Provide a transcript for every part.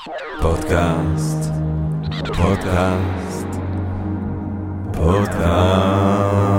פודקאסט, פודקאסט, פודקאסט.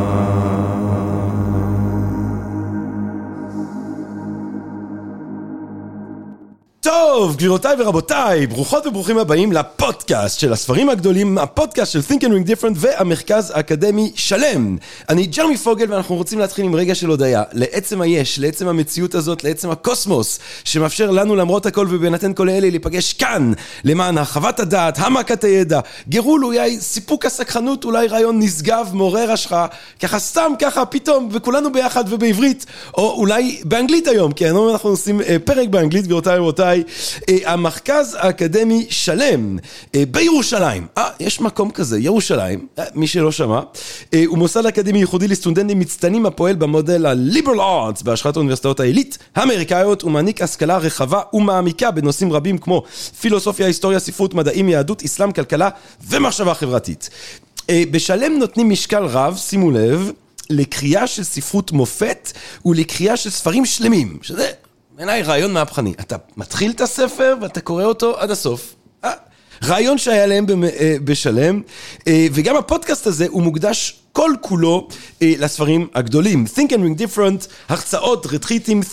טוב, גבירותיי ורבותיי, ברוכות וברוכים הבאים לפודקאסט של הספרים הגדולים, הפודקאסט של Think and Ring Different והמרכז האקדמי שלם. אני ג'רמי פוגל ואנחנו רוצים להתחיל עם רגע של הודעה, לעצם היש, לעצם המציאות הזאת, לעצם הקוסמוס, שמאפשר לנו למרות הכל ובהינתן כל אלה להיפגש כאן, למען הרחבת הדעת, העמקת הידע, גירול אולי סיפוק הסקחנות, אולי רעיון נשגב, מעורר השחאה, ככה סתם ככה פתאום, וכולנו ביחד ובעברית, או אולי באנגלית היום, כי אנחנו עושים פרק באנגלית, גבירותיי ורבותיי, המרכז האקדמי שלם בירושלים. יש מקום כזה, ירושלים, מי שלא שמע. הוא מוסד אקדמי ייחודי לסטודנטים מצטיינים הפועל במודל ה-Liberal Arts בהשראת האוניברסיטאות העילית האמריקאיות, ומעניק השכלה רחבה ומעמיקה בנושאים רבים כמו פילוסופיה, היסטוריה, ספרות, מדעים, יהדות, אסלאם, כלכלה ומחשבה חברתית. בשלם נותנים משקל רב, שימו לב, לקריאה של ספרות מופת ולקריאה של ספרים שלמים, שזה בעיניי רעיון מהפכני. אתה מתחיל את הספר ואתה קורא אותו עד הסוף. רעיון שהיה להם בשלם, וגם הפודקאסט הזה הוא מוקדש כל כולו לספרים הגדולים. Think and Ring Different, הרצאות, רטריטים,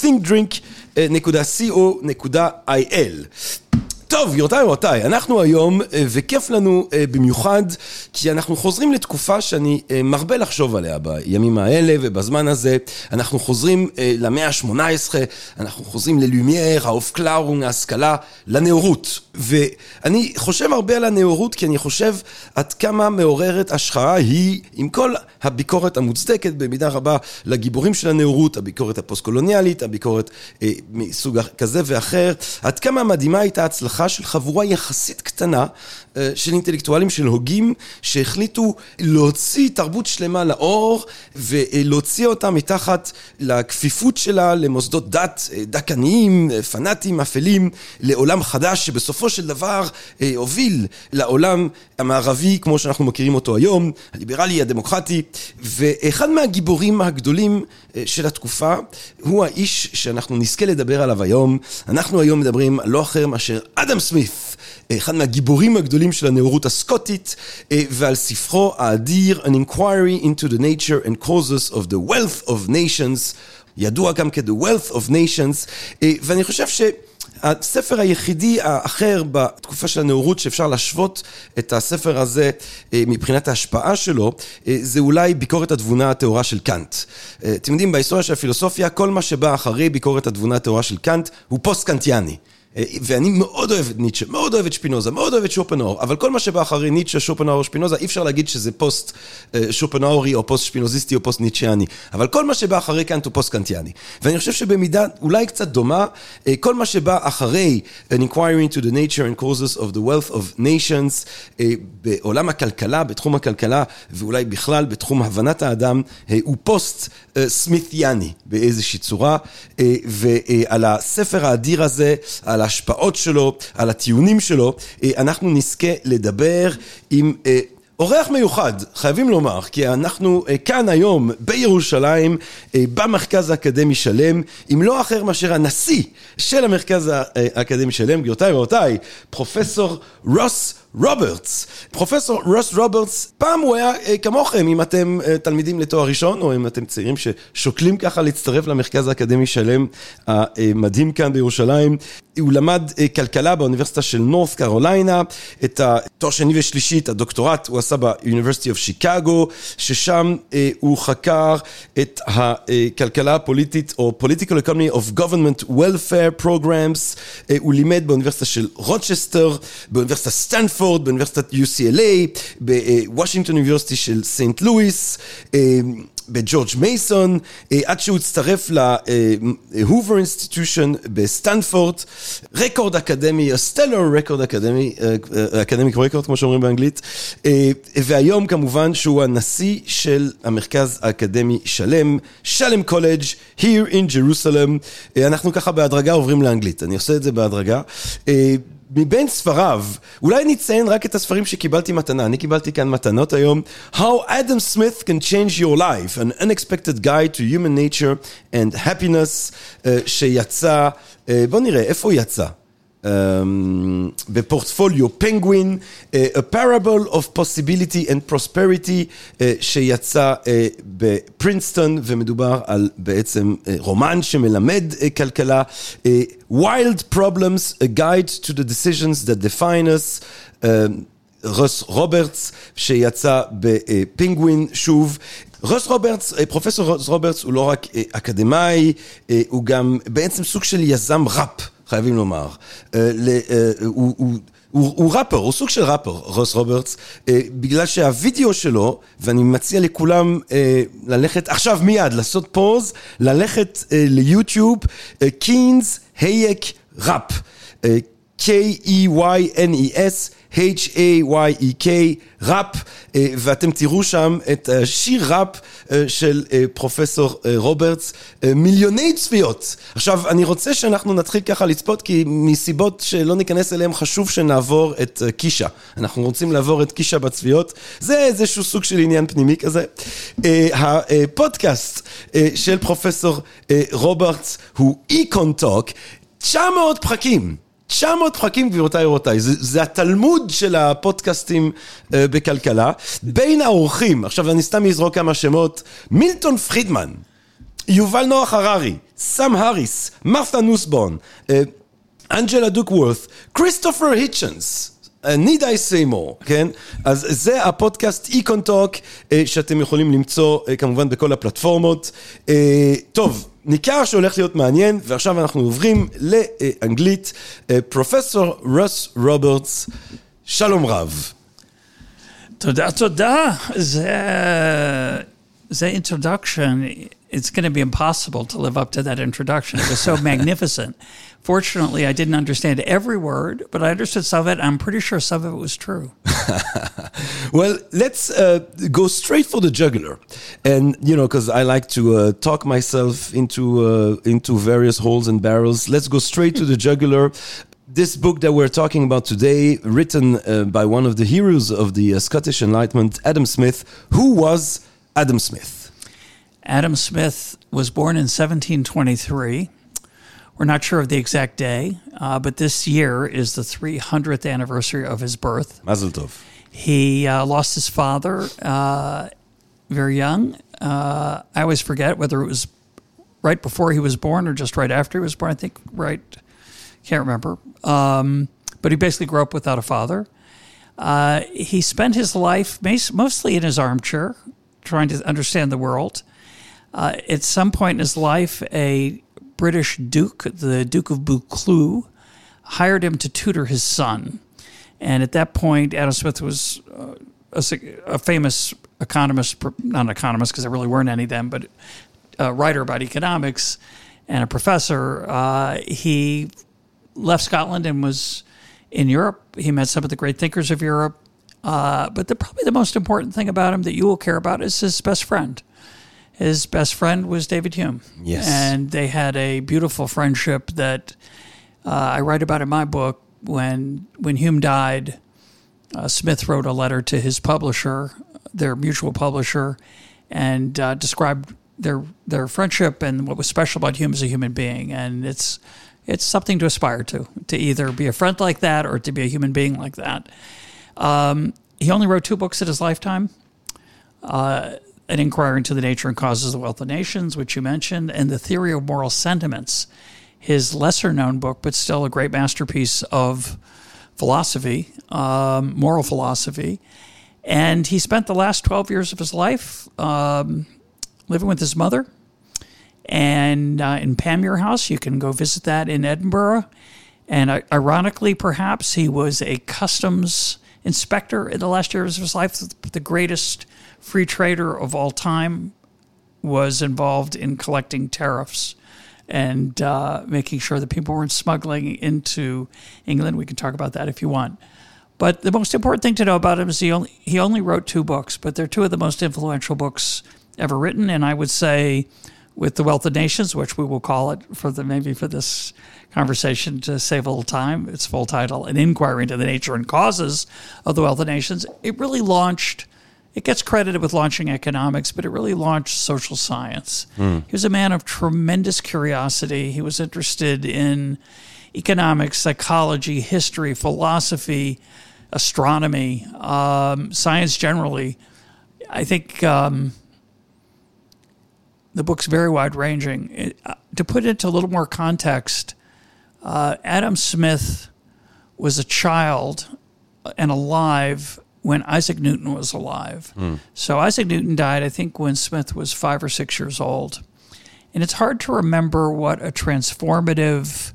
thinkdrink.co.il. טוב, גבירותיי ורבותיי, אנחנו היום, וכיף לנו במיוחד, כי אנחנו חוזרים לתקופה שאני מרבה לחשוב עליה בימים האלה, ובזמן הזה אנחנו חוזרים למאה ה-18, אנחנו חוזרים ללומייר, האופקלארונג, ההשכלה, לנאורות. ואני חושב הרבה על הנאורות, כי אני חושב עד כמה מעוררת השחרה היא, עם כל הביקורת המוצדקת במידה רבה לגיבורים של הנאורות, הביקורת הפוסט-קולוניאלית, הביקורת מסוג כזה ואחר, עד כמה מדהימה הייתה הצלחה של חבורה יחסית קטנה של אינטלקטואלים, של הוגים, שהחליטו להוציא תרבות שלמה לאור, ולהוציא אותה מתחת לכפיפות שלה למוסדות דת, דקניים, פנאטים, אפלים, לעולם חדש, שבסופו של דבר הוביל לעולם המערבי, כמו שאנחנו מכירים אותו היום, הליברלי, הדמוקרטי, ואחד מהגיבורים הגדולים של התקופה, הוא האיש שאנחנו נזכה לדבר עליו היום. אנחנו היום מדברים לא אחר מאשר אדם סמית, אחד מהגיבורים הגדולים של הנאורות הסקוטית, ועל ספרו האדיר, An Inquiry into the Nature and Causes of the Wealth of Nations, ידוע גם כ-The Wealth of Nations, ואני חושב הספר היחידי האחר בתקופה של הנאורות שאפשר להשוות את הספר הזה מבחינת ההשפעה שלו, זה אולי ביקורת התבונה התאורה של קאנט. אתם יודעים, בהיסטוריה של הפילוסופיה, כל מה שבא אחרי ביקורת התבונה התאורה של קאנט הוא פוסט-קאנטיאני. ואני מאוד אוהב את ניטשה, מאוד אוהב את שפינוזה, מאוד אוהב את שופנהאואר, אבל כל מה שבא אחרי ניטשה, שופנהאואר, שפינוזה, אי אפשר להגיד שזה פוסט שופנהאוארי או פוסט שפינוזיסטי או פוסט ניטשיאני, אבל כל מה שבא אחרי קאנט הוא פוסט קאנטיאני. ואני חושב שבמידה אולי קצת דומה, כל מה שבא אחרי An Inquiry into the Nature and Causes of the Wealth of Nations, בעולם הכלכלה, בתחום הכלכלה, ואולי בכלל בתחום הבנת האדם, הוא פוסט סמית'יאני באיזושהי צורה, ועל הספר האדיר הזה, על ההשפעות שלו, על הטיעונים שלו, אנחנו נזכה לדבר עם אורח מיוחד, חייבים לומר, כי אנחנו כאן היום בירושלים, במרכז האקדמי שלם, אם לא אחר מאשר הנשיא של המרכז האקדמי שלם, גבירותיי ורבותיי, פרופסור רוס רוברטס. פרופסור רוס רוברטס, פעם הוא היה כמוכם, אם אתם תלמידים לתואר ראשון, או אם אתם צעירים ששוקלים ככה להצטרף למרכז האקדמי שלם המדהים כאן בירושלים. הוא למד כלכלה באוניברסיטה של נורת' קרוליינה, את התואר שני ושלישי, את הדוקטורט, הוא עשה ב-University of Chicago, ששם הוא חקר את הכלכלה הפוליטית, או Political Economy of Government Welfare Programs. הוא לימד באוניברסיטה של רוצ'סטר, באוניברסיטת סטנפורד, באוניברסיטת UCLA, בוושינגטון אוניברסיטי של סנט לואיס, בג'ורג' מייסון, עד שהוא הצטרף להובר אינסטיטושן בסטנפורד, רקורד אקדמי, סטלר רקורד אקדמי, אקדמיק רקורד כמו שאומרים באנגלית, והיום כמובן שהוא הנשיא של המרכז האקדמי שלם, שלם קולג' here in Jerusalem. אנחנו ככה בהדרגה עוברים לאנגלית, אני עושה את זה בהדרגה. מבין ספריו, אולי נציין רק את הספרים שקיבלתי מתנה, אני קיבלתי כאן מתנות היום, How Adam Smith Can Change Your Life, An Unexpected Guide to Human Nature and Happiness, שיצא, בוא נראה, איפה הוא יצא? בפורטפוליו פנגווין, A Parable of Possibility and Prosperity, שיצא בפרינסטון, ומדובר על בעצם רומן שמלמד כלכלה, Wild Problems, A Guide to the Decisions That Define Us, רוס רוברטס, שיצא בפינגווין שוב. פרופסור רוס רוברטס הוא לא רק אקדמאי, הוא גם בעצם סוג של יזם ראפ, חייבים לומר. הוא ראפר, הוא סוג של ראפר, רוס רוברטס, בגלל שהווידאו שלו, ואני מציע לכולם ללכת, עכשיו מיד, לעשות פוז, ללכת ליוטיוב, קיינס הייק ראפ, K-E-Y-N-E-S, H-A-Y-E-K, ראפ, ואתם תראו שם את שיר ראפ של פרופסור רוברטס, מיליוני צפיות. עכשיו, אני רוצה שאנחנו נתחיל ככה לצפות, כי מסיבות שלא ניכנס אליהם חשוב שנעבור את קישה. אנחנו רוצים לעבור את קישה בצפיות, זה איזשהו סוג של עניין פנימי כזה. הפודקאסט של פרופסור רוברטס הוא איקון-טוק, 900 פרקים. 900 פרקים, גבירותיי ורבותיי, זה התלמוד של הפודקאסטים בכלכלה. בין האורחים, עכשיו אני סתם אזרוק כמה שמות, מילטון פרידמן, יובל נוח הררי, סם הריס, מרתה נוסבורן, אנג'לה דוקוורת', כריסטופר היצ'נס, need I say more, כן? אז זה הפודקאסט איקון-טוק, שאתם יכולים למצוא כמובן בכל הפלטפורמות. טוב, ניכר שהולך להיות מעניין, ועכשיו אנחנו עוברים לאנגלית. פרופסור רוס רוברטס, שלום רב. תודה, תודה. זה introduction. It's going to be impossible to live up to that introduction. It was so magnificent. Fortunately, I didn't understand every word, but I understood some of it. I'm pretty sure some of it was true. Well, let's go straight for the jugular. And, you know, because I like to talk myself into various holes and barrels. Let's go straight to the jugular. This book that we're talking about today, written by one of the heroes of the Scottish Enlightenment, Adam Smith. Who was Adam Smith? Adam Smith was born in 1723. We're not sure of the exact day, but this year is the 300th anniversary of his birth. Mazel tov. He lost his father very young. I always forget whether it was right before he was born or just right after he was born. I think right, can't remember. But he basically grew up without a father. He spent his life mostly in his armchair, trying to understand the world. At some point in his life, a British duke, the Duke of Buccleuch, hired him to tutor his son. And at that point, Adam Smith was a famous economist, not an economist because there really weren't any then, but a writer about economics and a professor. He left Scotland and was in Europe. He met some of the great thinkers of Europe. But probably the most important thing about him that you will care about is his best friend. His best friend was David Hume. Yes. And they had a beautiful friendship that I write about in my book. When Hume died, Smith wrote a letter to his publisher, their mutual publisher, and described their friendship and what was special about Hume as a human being. And it's something to aspire to either be a friend like that or to be a human being like that. He only wrote 2 books in his lifetime. An Inquiry into the Nature and Causes of the Wealth of Nations, which you mentioned, and The Theory of Moral Sentiments, his lesser-known book, but still a great masterpiece of philosophy, moral philosophy. And he spent the last 12 years of his life living with his mother and in Panmure House. You can go visit that in Edinburgh. And ironically, perhaps, he was a customs inspector in the last years of his life. The greatest free trader of all time was involved in collecting tariffs and making sure that people weren't smuggling into England. We can talk about that if you want. But the most important thing to know about him is he only wrote 2 books, but they're 2 of the most influential books ever written. And I would say with The Wealth of Nations, which we will call it maybe for this conversation to save a little time, its full title, An Inquiry into the Nature and Causes of the Wealth of Nations, it really launched, it gets credited with launching economics, but it really launched social science. He was a man of tremendous curiosity. He was interested in economics, psychology, history, philosophy, astronomy, science generally. I think the book's very wide-ranging. To put it into a little more context, Adam Smith was a child and alive when Isaac Newton was alive. So Isaac Newton died, I think, when Smith was 5 or 6 years old. And it's hard to remember what a transformative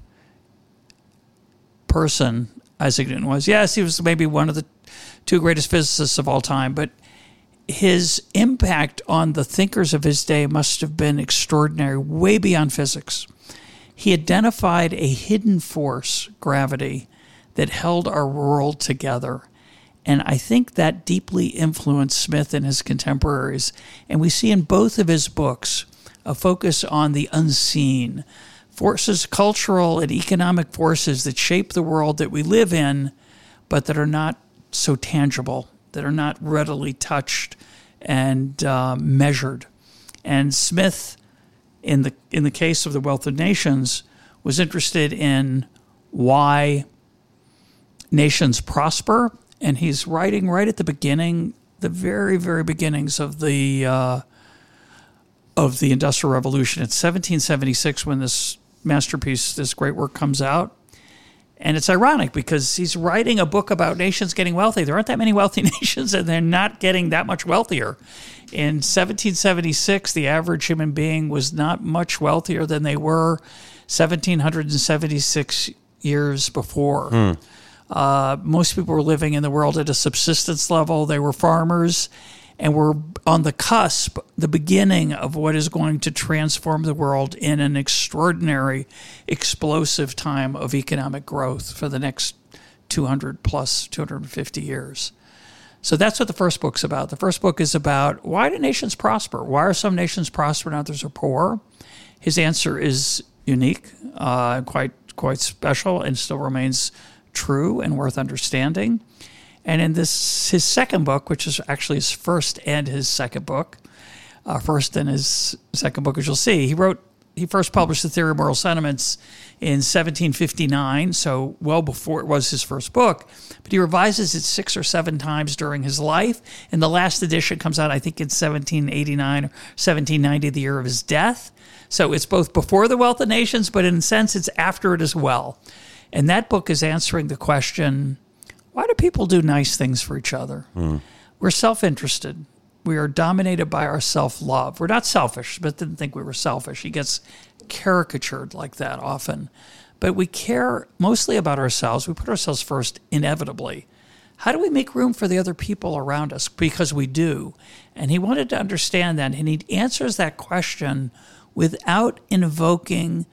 person Isaac Newton was. Yes, he was maybe one of the 2 greatest physicists of all time, but his impact on the thinkers of his day must have been extraordinary, way beyond physics. He identified a hidden force, gravity, that held our world together. And I think that deeply influenced Smith and his contemporaries. And we see in both of his books a focus on the unseen, forces, cultural and economic forces that shape the world that we live in, but that are not so tangible, that are not readily touched and measured. And Smith, in the case of The Wealth of Nations, was interested in why nations prosper, and he's writing right at the beginning, the very, very beginnings of the Industrial Revolution. It's 1776 when this masterpiece, this great work, comes out. And it's ironic because he's writing a book about nations getting wealthy. There aren't that many wealthy nations, and they're not getting that much wealthier. In 1776, the average human being was not much wealthier than they were 1776 years before. Most people were living in the world at a subsistence level. They were farmers, and we're on the cusp, the beginning of what is going to transform the world in an extraordinary, explosive time of economic growth for the next 250 years. So that's what the first book's about. The first book is about, why do nations prosper? Why are some nations prosper and others are poor? His answer is unique, quite special, and still remains true and worth understanding. And in his second book, which is actually his first and his second book, first and his second book, as you'll see, he first published The Theory of Moral Sentiments in 1759, so well before it was his first book, but he revises it 6 or 7 times during his life, and the last edition comes out, I think, in 1789 or 1790, the year of his death. So it's both before The Wealth of Nations, but in a sense it's after it as well. And that book is answering the question, why do people do nice things for each other? We're self-interested. We are dominated by our self-love. We're not selfish. Smith didn't think we were selfish. He gets caricatured like that often. But we care mostly about ourselves. We put ourselves first inevitably. How do we make room for the other people around us? Because we do. And he wanted to understand that. And he answers that question without invoking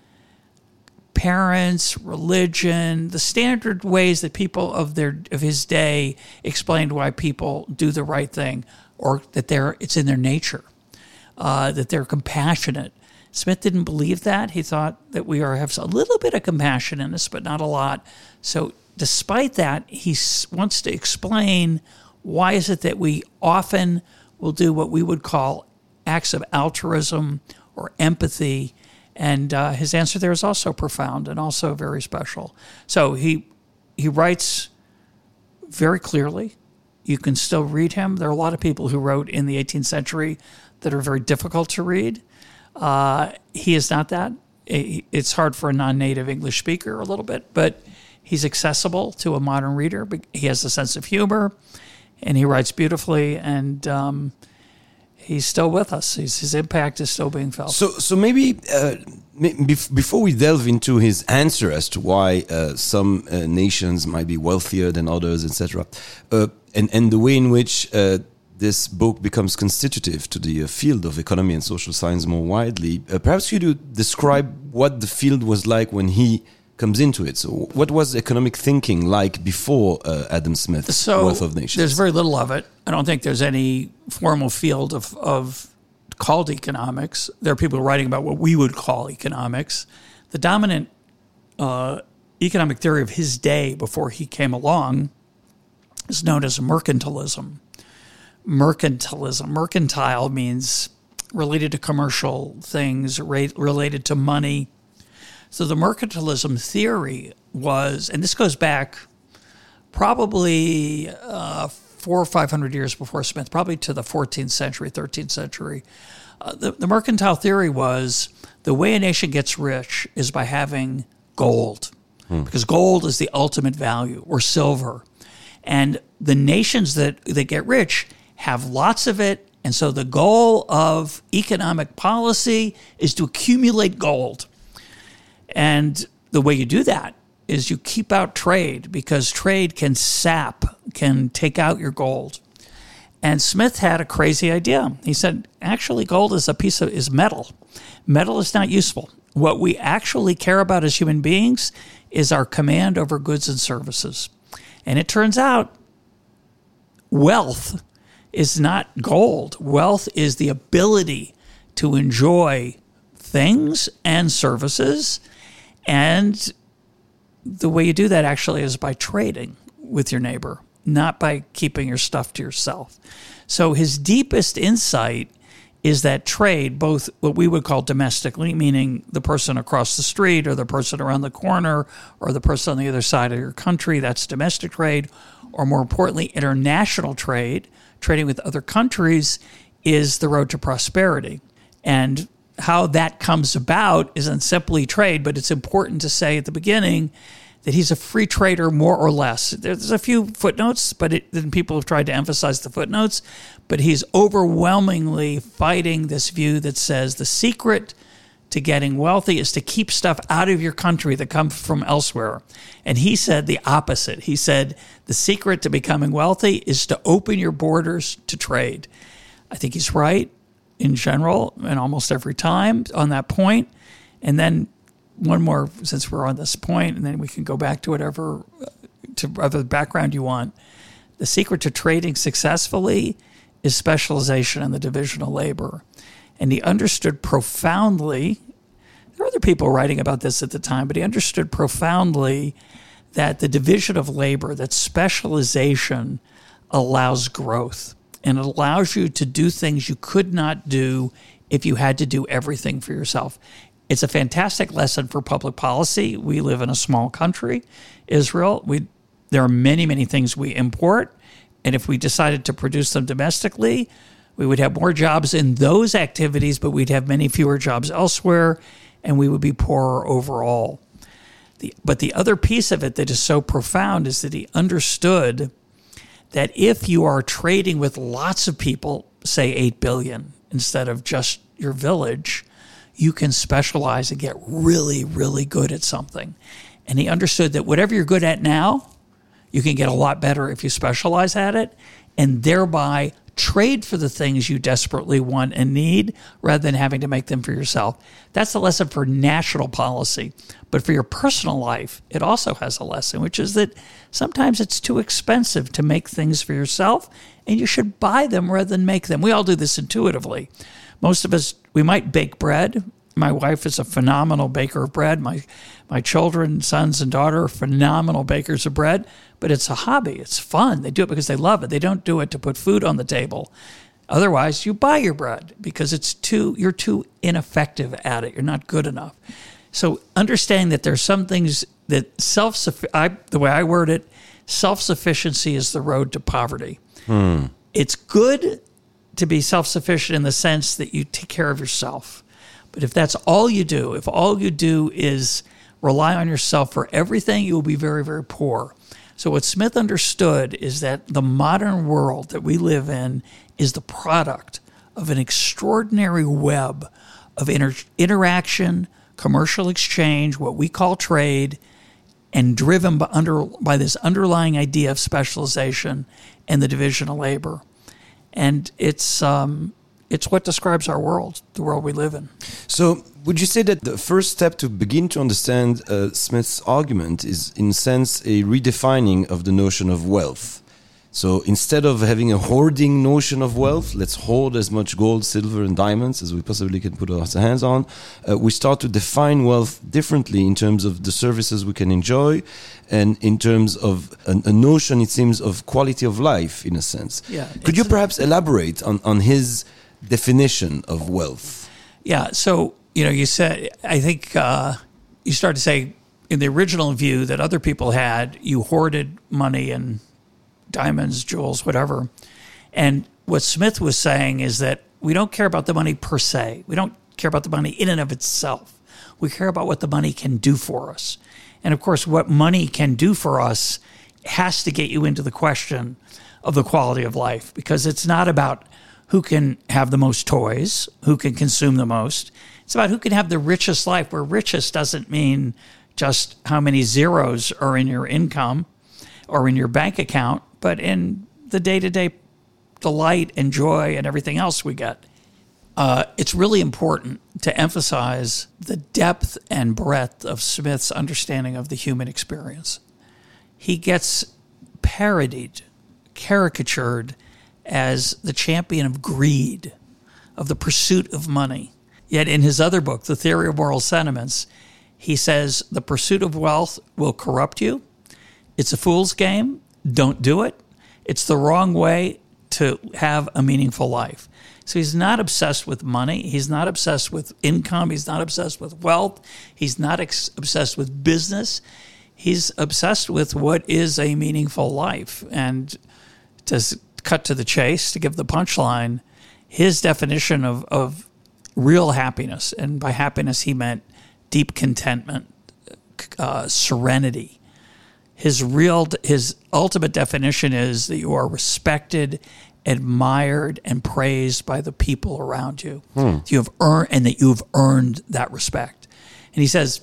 parents, religion, the standard ways that people of his day explained why people do the right thing, or that it's in their nature, that they're compassionate. Smith didn't believe that. He thought that we have a little bit of compassion in us, but not a lot. So despite that, he wants to explain why is it that we often will do what we would call acts of altruism or empathy. And his answer there is also profound and also very special. So he writes very clearly. You can still read him. There are a lot of people who wrote in the 18th century that are very difficult to read. He is not that. It's hard for a non-native English speaker a little bit, but he's accessible to a modern reader. He has a sense of humor, and he writes beautifully, and he's still with us. His impact is still being felt. So maybe before we delve into his answer as to why some nations might be wealthier than others, etc., and the way in which this book becomes constitutive to the field of economy and social science more widely, perhaps you do describe what the field was like when he comes into it. So what was economic thinking like before Adam Smith's Wealth of Nations? There's very little of it. I don't think there's any formal field of called economics. There are people writing about what we would call economics. The dominant economic theory of his day before he came along is known as mercantilism. Mercantile means related to commercial things, related to money. So the mercantilism theory was, and this goes back probably 400 or 500 years before Smith, probably to the 14th century, 13th century. The mercantile theory was the way a nation gets rich is by having gold, because gold is the ultimate value, or silver. And the nations that get rich have lots of it, and so the goal of economic policy is to accumulate gold. And the way you do that is you keep out trade, because trade can take out your gold. And Smith had a crazy idea. He said, actually, gold is metal. Metal is not useful. What we actually care about as human beings is our command over goods and services. And it turns out wealth is not gold. Wealth is the ability to enjoy things and services. And the way you do that actually is by trading with your neighbor, not by keeping your stuff to yourself. So his deepest insight is that trade, both what we would call domestically, meaning the person across the street or the person around the corner or the person on the other side of your country, that's domestic trade, or more importantly, international trade, trading with other countries, is the road to prosperity. And how that comes about isn't simply trade, but it's important to say at the beginning that he's a free trader, more or less. There's a few footnotes, then people have tried to emphasize the footnotes, but he's overwhelmingly fighting this view that says the secret to getting wealthy is to keep stuff out of your country that comes from elsewhere. And he said the opposite. He said the secret to becoming wealthy is to open your borders to trade. I think he's right in general and almost every time on that point. And then one more, since we're on this point, and then we can go back to whatever background you want. The secret to trading successfully is specialization and the division of labor. And he understood profoundly, there were other people writing about this at the time, but he understood profoundly that the division of labor, that specialization allows growth. And it allows you to do things you could not do if you had to do everything for yourself. It's a fantastic lesson for public policy. We live in a small country, Israel. There are many, many things we import. And if we decided to produce them domestically, we would have more jobs in those activities, but we'd have many fewer jobs elsewhere, and we would be poorer overall. But the other piece of it that is so profound is that he understood that if you are trading with lots of people, say 8 billion, instead of just your village, you can specialize and get really, really good at something. And he understood that whatever you're good at now, you can get a lot better if you specialize at it, and thereby trade for the things you desperately want and need rather than having to make them for yourself. That's the lesson for national policy. But for your personal life, it also has a lesson, which is that sometimes it's too expensive to make things for yourself, and you should buy them rather than make them. We all do this intuitively. Most of us, we might bake bread. My wife is a phenomenal baker of bread. My children, sons and daughter, are phenomenal bakers of bread. But it's a hobby. It's fun. They do it because they love it. They don't do it to put food on the table. Otherwise, you buy your bread because you're too ineffective at it. You're not good enough. So understanding that there's some things that the way I word it, self-sufficiency is the road to poverty. It's good to be self-sufficient in the sense that you take care of yourself. But if that's all you do, if all you do is rely on yourself for everything, you will be very, very poor. So what Smith understood is that the modern world that we live in is the product of an extraordinary web of interaction, commercial exchange, what we call trade, and driven by this underlying idea of specialization and the division of labor. And it's what describes our world, the world we live in. So would you say that the first step to begin to understand Smith's argument is, in a sense, a redefining of the notion of wealth? So instead of having a hoarding notion of wealth, let's hoard as much gold, silver, and diamonds as we possibly can put our hands on, we start to define wealth differently in terms of the services we can enjoy and in terms of a notion, it seems, of quality of life, in a sense. Yeah, Could you perhaps elaborate on his definition of wealth? Yeah, so, you said, I think you start to say, in the original view that other people had, you hoarded money and diamonds, jewels, whatever. And what Smith was saying is that we don't care about the money per se. We don't care about the money in and of itself. We care about what the money can do for us. And of course, what money can do for us has to get you into the question of the quality of life, because it's not about who can have the most toys, who can consume the most. It's about who can have the richest life, where richest doesn't mean just how many zeros are in your income or in your bank account, but in the day-to-day delight and joy and everything else we get. It's really important to emphasize the depth and breadth of Smith's understanding of the human experience. He gets parodied, caricatured as the champion of greed, of the pursuit of money. Yet in his other book, The Theory of Moral Sentiments, he says the pursuit of wealth will corrupt you. It's a fool's game. Don't do it. It's the wrong way to have a meaningful life. So he's not obsessed with money. He's not obsessed with income. He's not obsessed with wealth. He's not obsessed with business. He's obsessed with what is a meaningful life. And to cut to the chase, to give the punchline, his definition of real happiness, and by happiness he meant deep contentment, serenity. His ultimate definition is that you are respected, admired, and praised by the people around you. You have earned that respect. And he says,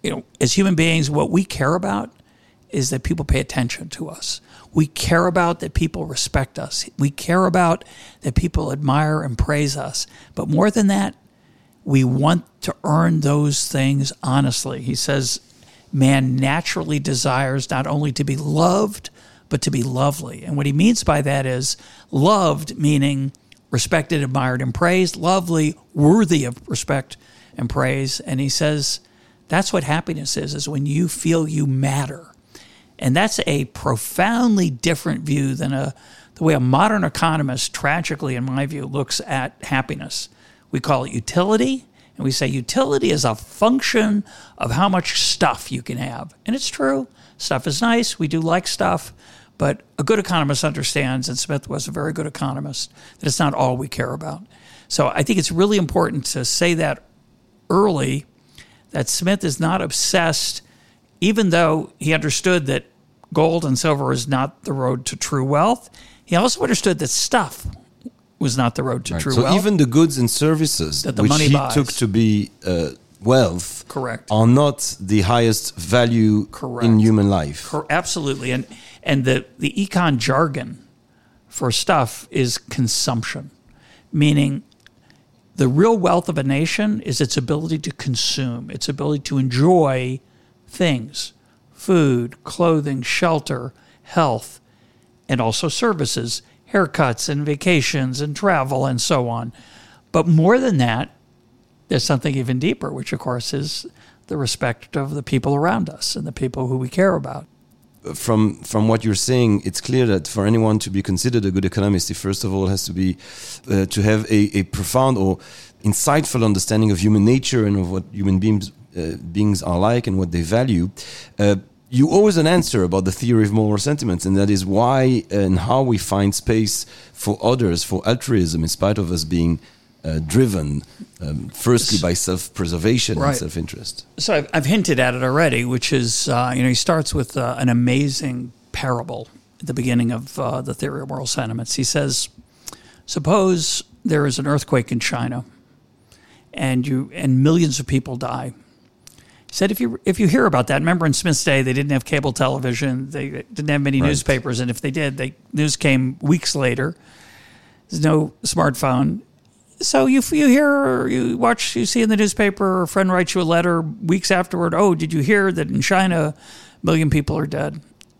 as human beings, what we care about is that people pay attention to us. We care about that people respect us. We care about that people admire and praise us. But more than that, we want to earn those things honestly. He says, man naturally desires not only to be loved, but to be lovely. And what he means by that is loved, meaning respected, admired, and praised. Lovely, worthy of respect and praise. And he says that's what happiness is when you feel you matter. And that's a profoundly different view than the way a modern economist, tragically in my view, looks at happiness. We call it utility, and we say utility is a function of how much stuff you can have. And it's true. Stuff is nice. We do like stuff. But a good economist understands, and Smith was a very good economist, that it's not all we care about. So I think it's really important to say that early, that Smith is not obsessed, even though he understood that gold and silver is not the road to true wealth. He also understood that stuff was not the road to true wealth. So even the goods and services that the which money he buys took to be wealth correct. Are not the highest value correct. In human life. Absolutely. And the econ jargon for stuff is consumption, meaning the real wealth of a nation is its ability to consume, its ability to enjoy things, food, clothing, shelter, health, and also services, haircuts and vacations and travel and so on. But more than that, there's something even deeper, which of course is the respect of the people around us and the people who we care about. From what you're saying, it's clear that for anyone to be considered a good economist, he first of all has to be to have a profound or insightful understanding of human nature and of what human beings are like and what they value. You owe us an answer about the theory of moral sentiments, and that is why and how we find space for others, for altruism, in spite of us being driven, firstly by self-preservation and self-interest. So I've hinted at it already, which is, he starts with an amazing parable at the beginning of the Theory of Moral Sentiments. He says, suppose there is an earthquake in China, and millions of people die. He said, if you hear about that, remember in Smith's day, they didn't have cable television, they didn't have many newspapers, and if they did, news came weeks later. There's no smartphone. So you hear, you watch, you see in the newspaper, a friend writes you a letter weeks afterward, oh, did you hear that in China, 1 million people are dead?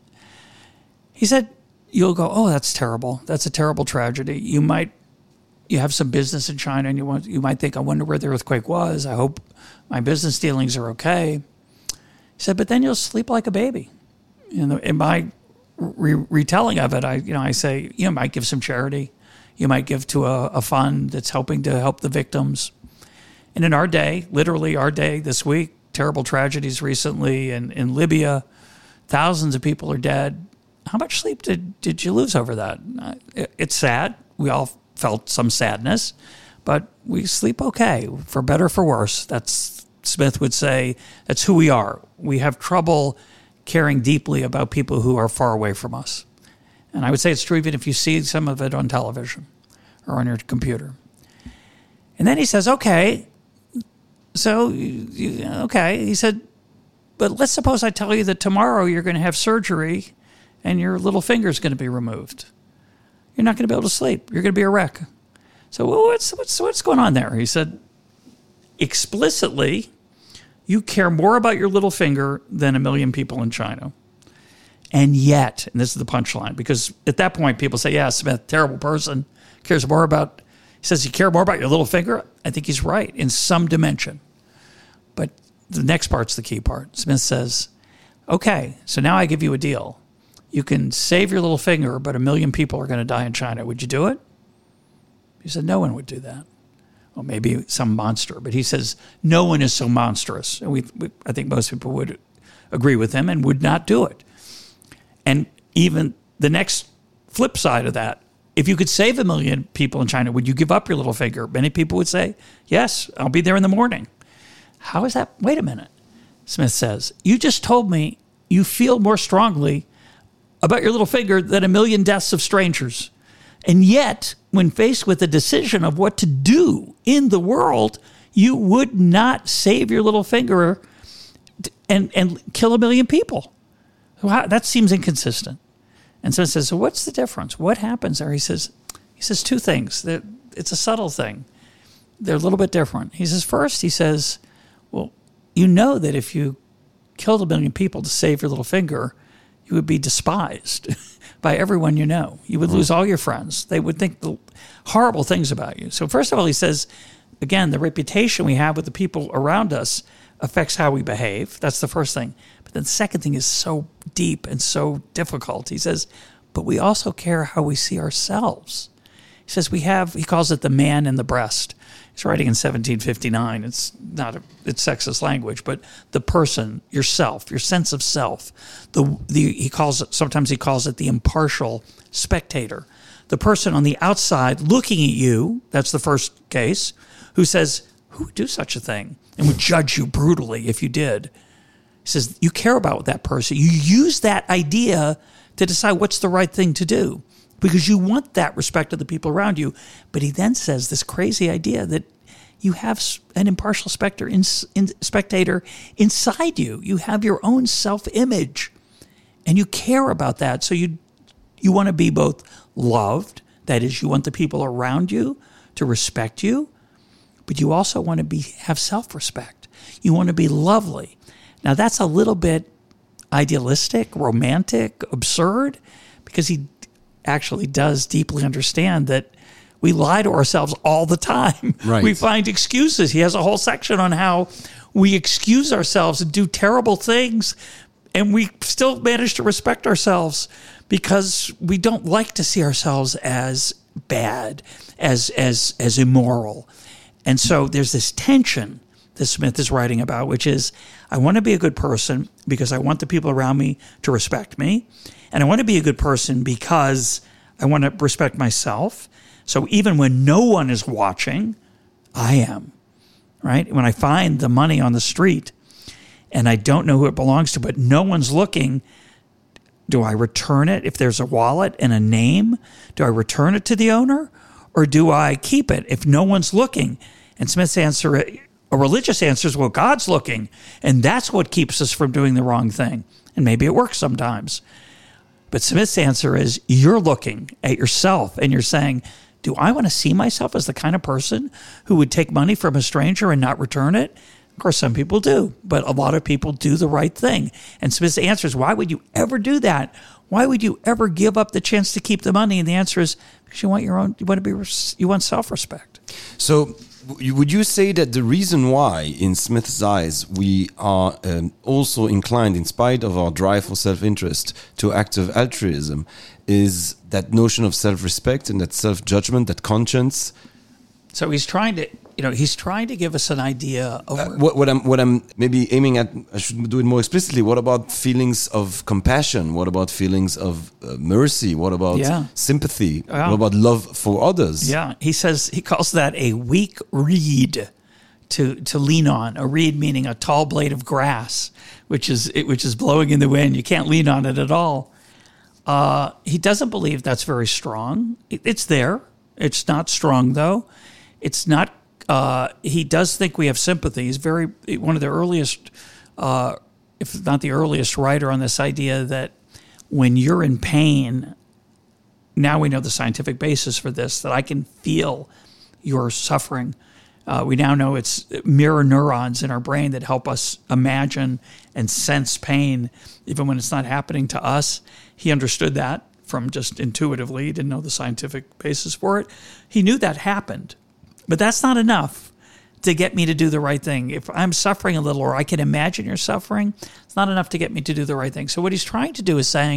He said, you'll go, oh, that's terrible. That's a terrible tragedy. You have some business in China and you might think, I wonder where the earthquake was. I hope my business dealings are okay. He said, but then you'll sleep like a baby. In my retelling of it, I say, you might give some charity. You might give to a fund that's helping to help the victims. And in our day, literally our day this week, terrible tragedies recently in Libya. Thousands of people are dead. How much sleep did you lose over that? It's sad. We all felt some sadness, but we sleep okay, for better or for worse. That's, Smith would say, that's who we are. We have trouble caring deeply about people who are far away from us. And I would say it's true even if you see some of it on television or on your computer. And then he says, okay, so, okay. He said, but let's suppose I tell you that tomorrow you're going to have surgery and your little finger is going to be removed. You're not going to be able to sleep. You're going to be a wreck. So what's going on there? He said, explicitly, you care more about your little finger than 1 million people in China. And yet, and this is the punchline, because at that point people say, yeah, Smith, terrible person, cares more about, he says, you care more about your little finger? I think he's right in some dimension. But the next part's the key part. Smith says, okay, so now I give you a deal. You can save your little finger, but 1 million people are going to die in China. Would you do it? He said, no one would do that. Well, maybe some monster, but he says, no one is so monstrous. And I think most people would agree with him and would not do it. And even the next flip side of that, if you could save 1 million people in China, would you give up your little finger? Many people would say, yes, I'll be there in the morning. How is that? Wait a minute, Smith says. You just told me you feel more strongly about your little finger than 1 million deaths of strangers. And yet, when faced with the decision of what to do in the world, you would not save your little finger and kill 1 million people. That seems inconsistent. And Smith says, so what's the difference? What happens there? He says two things. It's a subtle thing. They're a little bit different. He says, first, he says, well, you know that if you killed 1 million people to save your little finger, you would be despised by everyone you know. You would lose all your friends. They would think the horrible things about you. So first of all, he says, again, the reputation we have with the people around us affects how we behave. That's the first thing. But then the second thing is so deep and so difficult. He says, but we also care how we see ourselves. He says he calls it the man in the breast. He's writing in 1759. It's sexist language, but the person, yourself, your sense of self. Sometimes he calls it the impartial spectator. The person on the outside looking at you, that's the first case, who says, who would do such a thing? And would judge you brutally if you did. He says, you care about that person. You use that idea to decide what's the right thing to do because you want that respect of the people around you. But he then says this crazy idea that you have an impartial spectator inside you. You have your own self-image, and you care about that. So you want to be both loved, that is, you want the people around you to respect you, but you also want to have self-respect. You want to be lovely. Now, that's a little bit idealistic, romantic, absurd, because he actually does deeply understand that we lie to ourselves all the time. Right. We find excuses. He has a whole section on how we excuse ourselves and do terrible things, and we still manage to respect ourselves because we don't like to see ourselves as bad, as immoral. And so there's this tension that Smith is writing about, which is I want to be a good person because I want the people around me to respect me. And I want to be a good person because I want to respect myself. So even when no one is watching, I am, right? When I find the money on the street and I don't know who it belongs to, but no one's looking, do I return it if there's a wallet and a name? Do I return it to the owner? Or do I keep it if no one's looking? And Smith's answer, a religious answer is, well, God's looking. And that's what keeps us from doing the wrong thing. And maybe it works sometimes. But Smith's answer is, you're looking at yourself and you're saying, do I want to see myself as the kind of person who would take money from a stranger and not return it? Of course, some people do, but a lot of people do the right thing. And Smith's answer is, why would you ever do that? Why would you ever give up the chance to keep the money? And the answer is because you want self-respect. So would you say that the reason why, in Smith's eyes, we are also inclined, in spite of our drive for self-interest, to active altruism, is that notion of self-respect and that self-judgment, that conscience? So he's trying to he's trying to give us an idea of what I'm maybe aiming at. I should do it more explicitly. What about feelings of compassion? What about feelings of mercy? What about sympathy? What about love for others? Yeah, he calls that a weak reed to lean on. A reed meaning a tall blade of grass, which is blowing in the wind. You can't lean on it at all. He doesn't believe that's very strong. It's there. It's not strong, though. It's not. He does think we have sympathy. He's one of the earliest, if not the earliest, writer on this idea that when you're in pain, now we know the scientific basis for this, that I can feel your suffering. We now know it's mirror neurons in our brain that help us imagine and sense pain, even when it's not happening to us. He understood that from just intuitively. He didn't know the scientific basis for it. He knew that happened, but that's not enough to get me to do the right thing. If I'm suffering a little, or I can imagine you're suffering, it's not enough to get me to do the right thing. So what he's trying to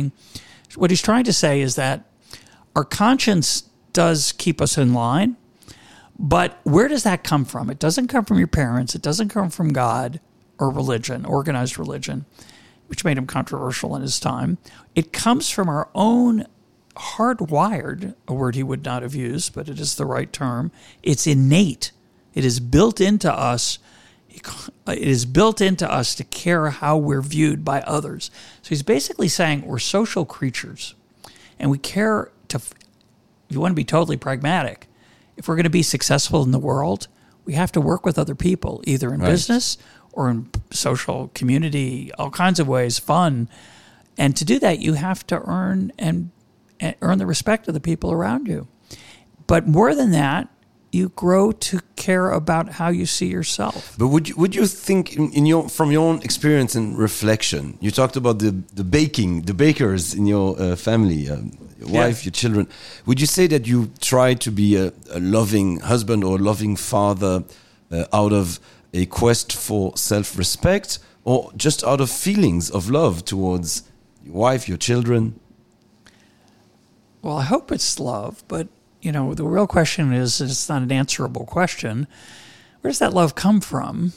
say is that our conscience does keep us in line. But where does that come from? It doesn't come from your parents. It doesn't come from God or religion, organized religion, which made him controversial in his time. It comes from our own hardwired, a word he would not have used, but it is the right term. It's innate. It is built into us. It is built into us to care how we're viewed by others. So he's basically saying we're social creatures, and we care to, if you want to be totally pragmatic, if we're going to be successful in the world, we have to work with other people, either in business or in social community, all kinds of ways, fun. And to do that, you have to earn the respect of the people around you. But more than that, you grow to care about how you see yourself. But would you think from your own experience and reflection, you talked about the bakers in your family, your wife, your children. Would you say that you try to be a loving husband or a loving father out of a quest for self-respect, or just out of feelings of love towards your wife, your children? Well, I hope it's love, but the real question is, it's not an answerable question. Where does that love come from?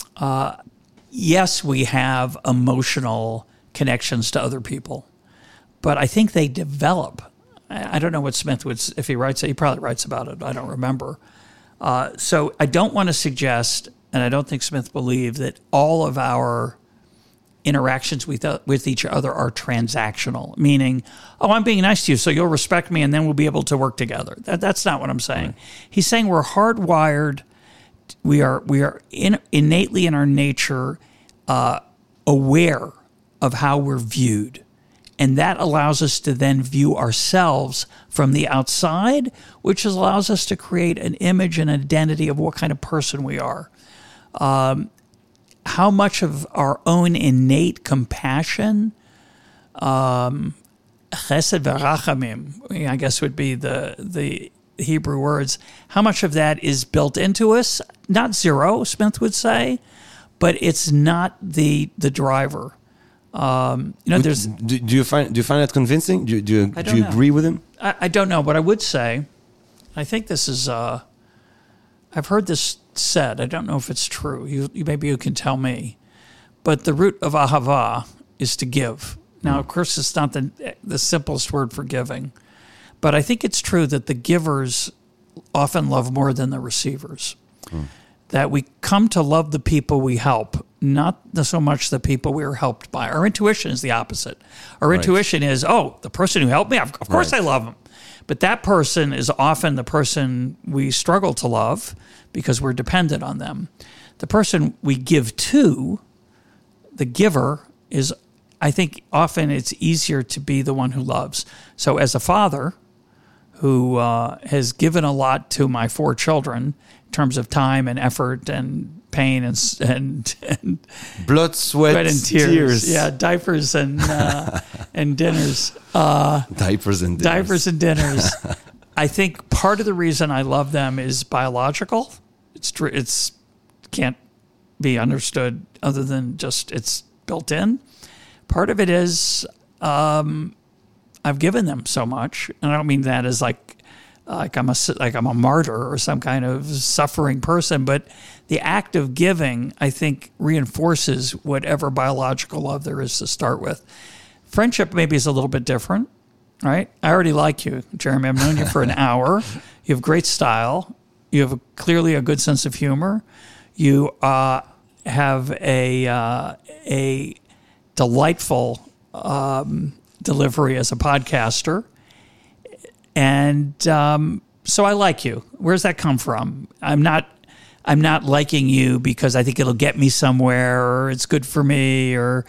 Yes, we have emotional connections to other people, but I think they develop. I don't know what Smith would, if he writes it, he probably writes about it. I don't remember. So I don't want to suggest, and I don't think Smith believed, that all of our interactions with each other are transactional, meaning, I'm being nice to you, so you'll respect me, and then we'll be able to work together. That's not what I'm saying. Right. He's saying we're hardwired. We are innately in our nature aware of how we're viewed, and that allows us to then view ourselves from the outside, which allows us to create an image and identity of what kind of person we are. How much of our own innate compassion, chesed v'rachamim, I guess would be the Hebrew words, how much of that is built into us? Not zero, Smith would say, but it's not the driver. There's. Do you find that convincing? Do you agree with him? I don't know, but I would say, I think this is. I've heard this said. I don't know if it's true. Maybe you can tell me. But the root of ahava is to give. Now, of course, it's not the simplest word for giving, but I think it's true that the givers often love more than the receivers. That we come to love the people we help, not so much the people we are helped by. Our intuition is the opposite. Our intuition is, the person who helped me, of course I love him. But that person is often the person we struggle to love because we're dependent on them. The person we give to, the giver, is, I think, often it's easier to be the one who loves. So as a father who has given a lot to my 4 children in terms of time and effort and pain and blood, sweat, and tears. Yeah, diapers and and dinners. Diapers and dinners. I think part of the reason I love them is biological. It's can't be understood other than just it's built in. Part of it is I've given them so much, and I don't mean that as like like I'm a martyr or some kind of suffering person. But the act of giving, I think, reinforces whatever biological love there is to start with. Friendship maybe is a little bit different, right? I already like you, Jeremy. I've known you for an hour. You have great style. You have clearly a good sense of humor. You have a delightful delivery as a podcaster. And so I like you. Where's that come from? I'm not liking you because I think it'll get me somewhere or it's good for me or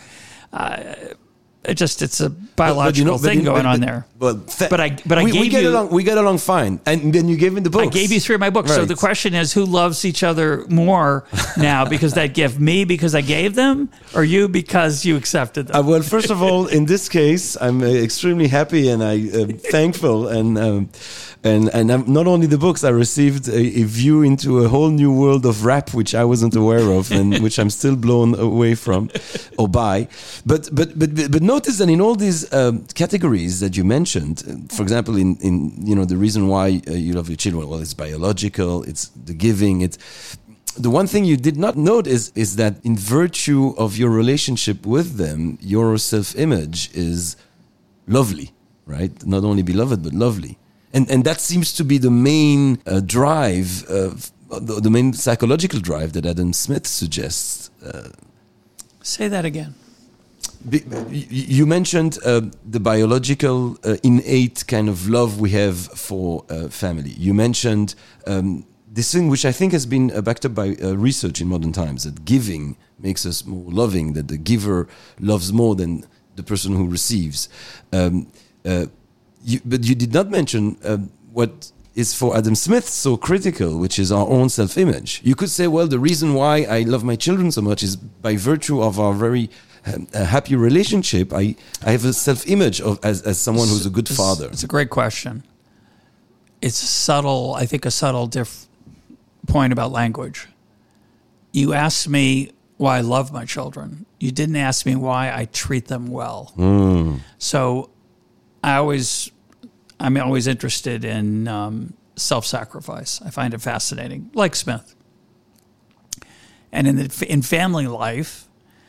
it's a biological thing going on there. But I gave you. We get along fine, and then you gave me the books. I gave you 3 of my books. Right. So the question is, who loves each other more now because that gift? Me because I gave them, or you because you accepted them? Well, first of all, in this case, I'm extremely happy and I'm thankful, and I'm, not only the books, I received a view into a whole new world of rap which I wasn't aware of, and which I'm still blown away from or by. But notice that in all these categories that you mentioned, for example, in the reason why you love your children, well, it's biological, it's the giving, it's the one thing you did not note is that in virtue of your relationship with them, your self-image is lovely, right? Not only beloved, but lovely. And that seems to be the main drive, the main psychological drive that Adam Smith suggests. Say that again. You mentioned the biological innate kind of love we have for family. You mentioned this thing which I think has been backed up by research in modern times, that giving makes us more loving, that the giver loves more than the person who receives. But you did not mention what is for Adam Smith so critical, which is our own self-image. You could say, well, the reason why I love my children so much is by virtue of our very happy relationship. I have a self-image as someone who's a good father. It's a great question. It's subtle, I think a subtle point about language. You asked me why I love my children. You didn't ask me why I treat them well. So I'm always interested in self-sacrifice. I find it fascinating, like Smith. And in family life,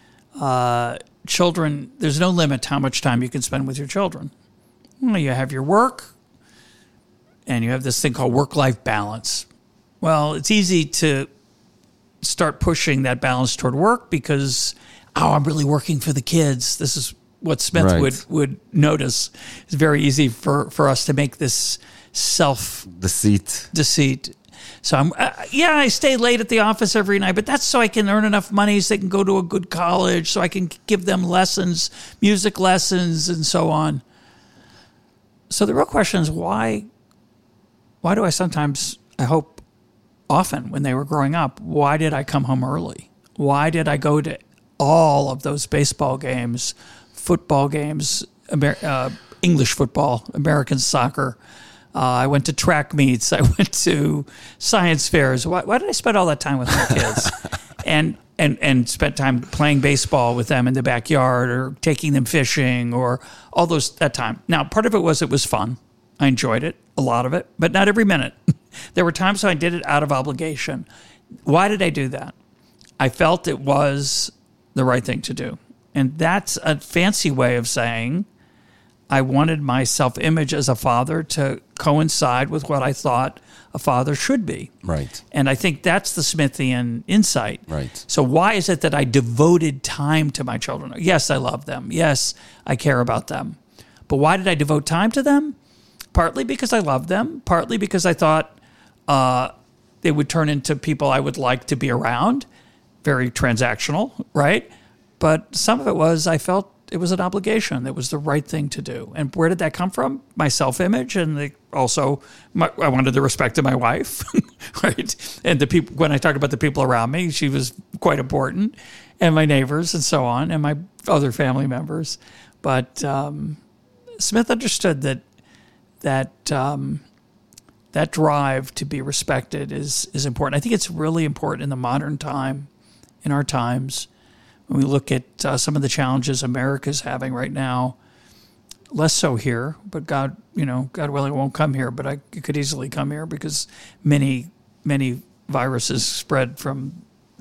children, there's no limit to how much time you can spend with your children. You have your work, and you have this thing called work-life balance. Well, it's easy to start pushing that balance toward work because, I'm really working for the kids. This is what Smith would notice. It's very easy for us to make this deceit. So I stay late at the office every night, but that's so I can earn enough money so they can go to a good college, so I can give them lessons, music lessons, and so on. So the real question is why do I sometimes, I hope often when they were growing up, why did I come home early? Why did I go to all of those baseball games, football games, English football, American soccer? I went to track meets. I went to science fairs. Why did I spend all that time with my kids? and spent time playing baseball with them in the backyard or taking them fishing or all that time. Now, part of it was fun. I enjoyed it, a lot of it, but not every minute. There were times when I did it out of obligation. Why did I do that? I felt it was the right thing to do. And that's a fancy way of saying I wanted my self-image as a father to coincide with what I thought a father should be. Right. And I think that's the Smithian insight. Right. So why is it that I devoted time to my children? Yes, I love them. Yes, I care about them. But why did I devote time to them? Partly because I loved them. Partly because I thought they would turn into people I would like to be around. Very transactional, right? But some of it was I felt it was an obligation. It was the right thing to do. And where did that come from? My self-image, and I wanted the respect of my wife, right? And the people. When I talk about the people around me, she was quite important, and my neighbors, and so on, and my other family members. But Smith understood that drive to be respected is important. I think it's really important in the modern time, in our times. When we look at some of the challenges America's having right now, less so here, but God willing, it won't come here, but it could easily come here because many viruses spread from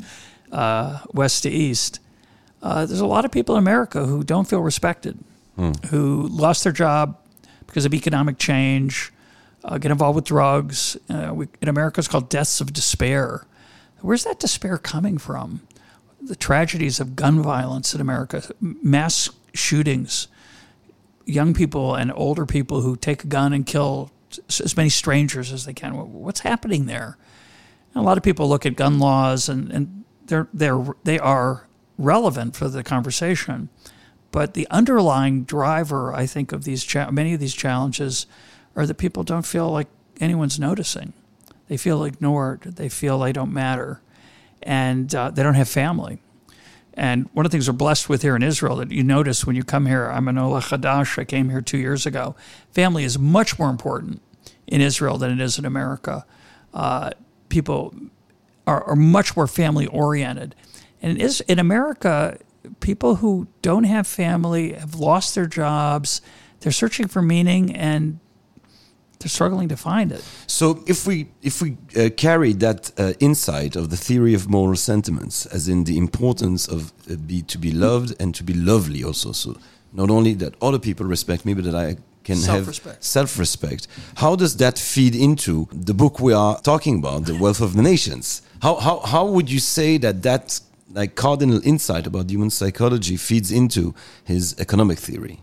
west to east. There's a lot of people in America who don't feel respected, who lost their job because of economic change, get involved with drugs. In America, it's called deaths of despair. Where's that despair coming from? The tragedies of gun violence in America, mass shootings, young people and older people who take a gun and kill as many strangers as they can. What's happening there? And a lot of people look at gun laws and they are relevant for the conversation, but the underlying driver, I think, of many of these challenges are that people don't feel like anyone's noticing. They feel ignored. They feel they don't matter, and they don't have family. And one of the things we're blessed with here in Israel that you notice when you come here, I'm an Ola Chadash, I came here 2 years ago. Family is much more important in Israel than it is in America. People are much more family-oriented. And in America, people who don't have family have lost their jobs. They're searching for meaning, and they're struggling to find it. So if we carry that insight of the theory of moral sentiments, as in the importance of to be loved and to be lovely also, so not only that other people respect me, but that I can have self-respect. How does that feed into the book we are talking about, The Wealth of the Nations? How would you say that like cardinal insight about human psychology feeds into his economic theory?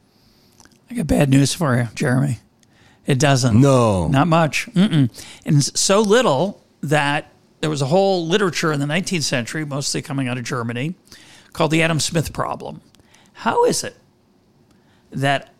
I got bad news for you, Jeremy. It doesn't. No. Not much. And so little that there was a whole literature in the 19th century, mostly coming out of Germany, called the Adam Smith problem. How is it that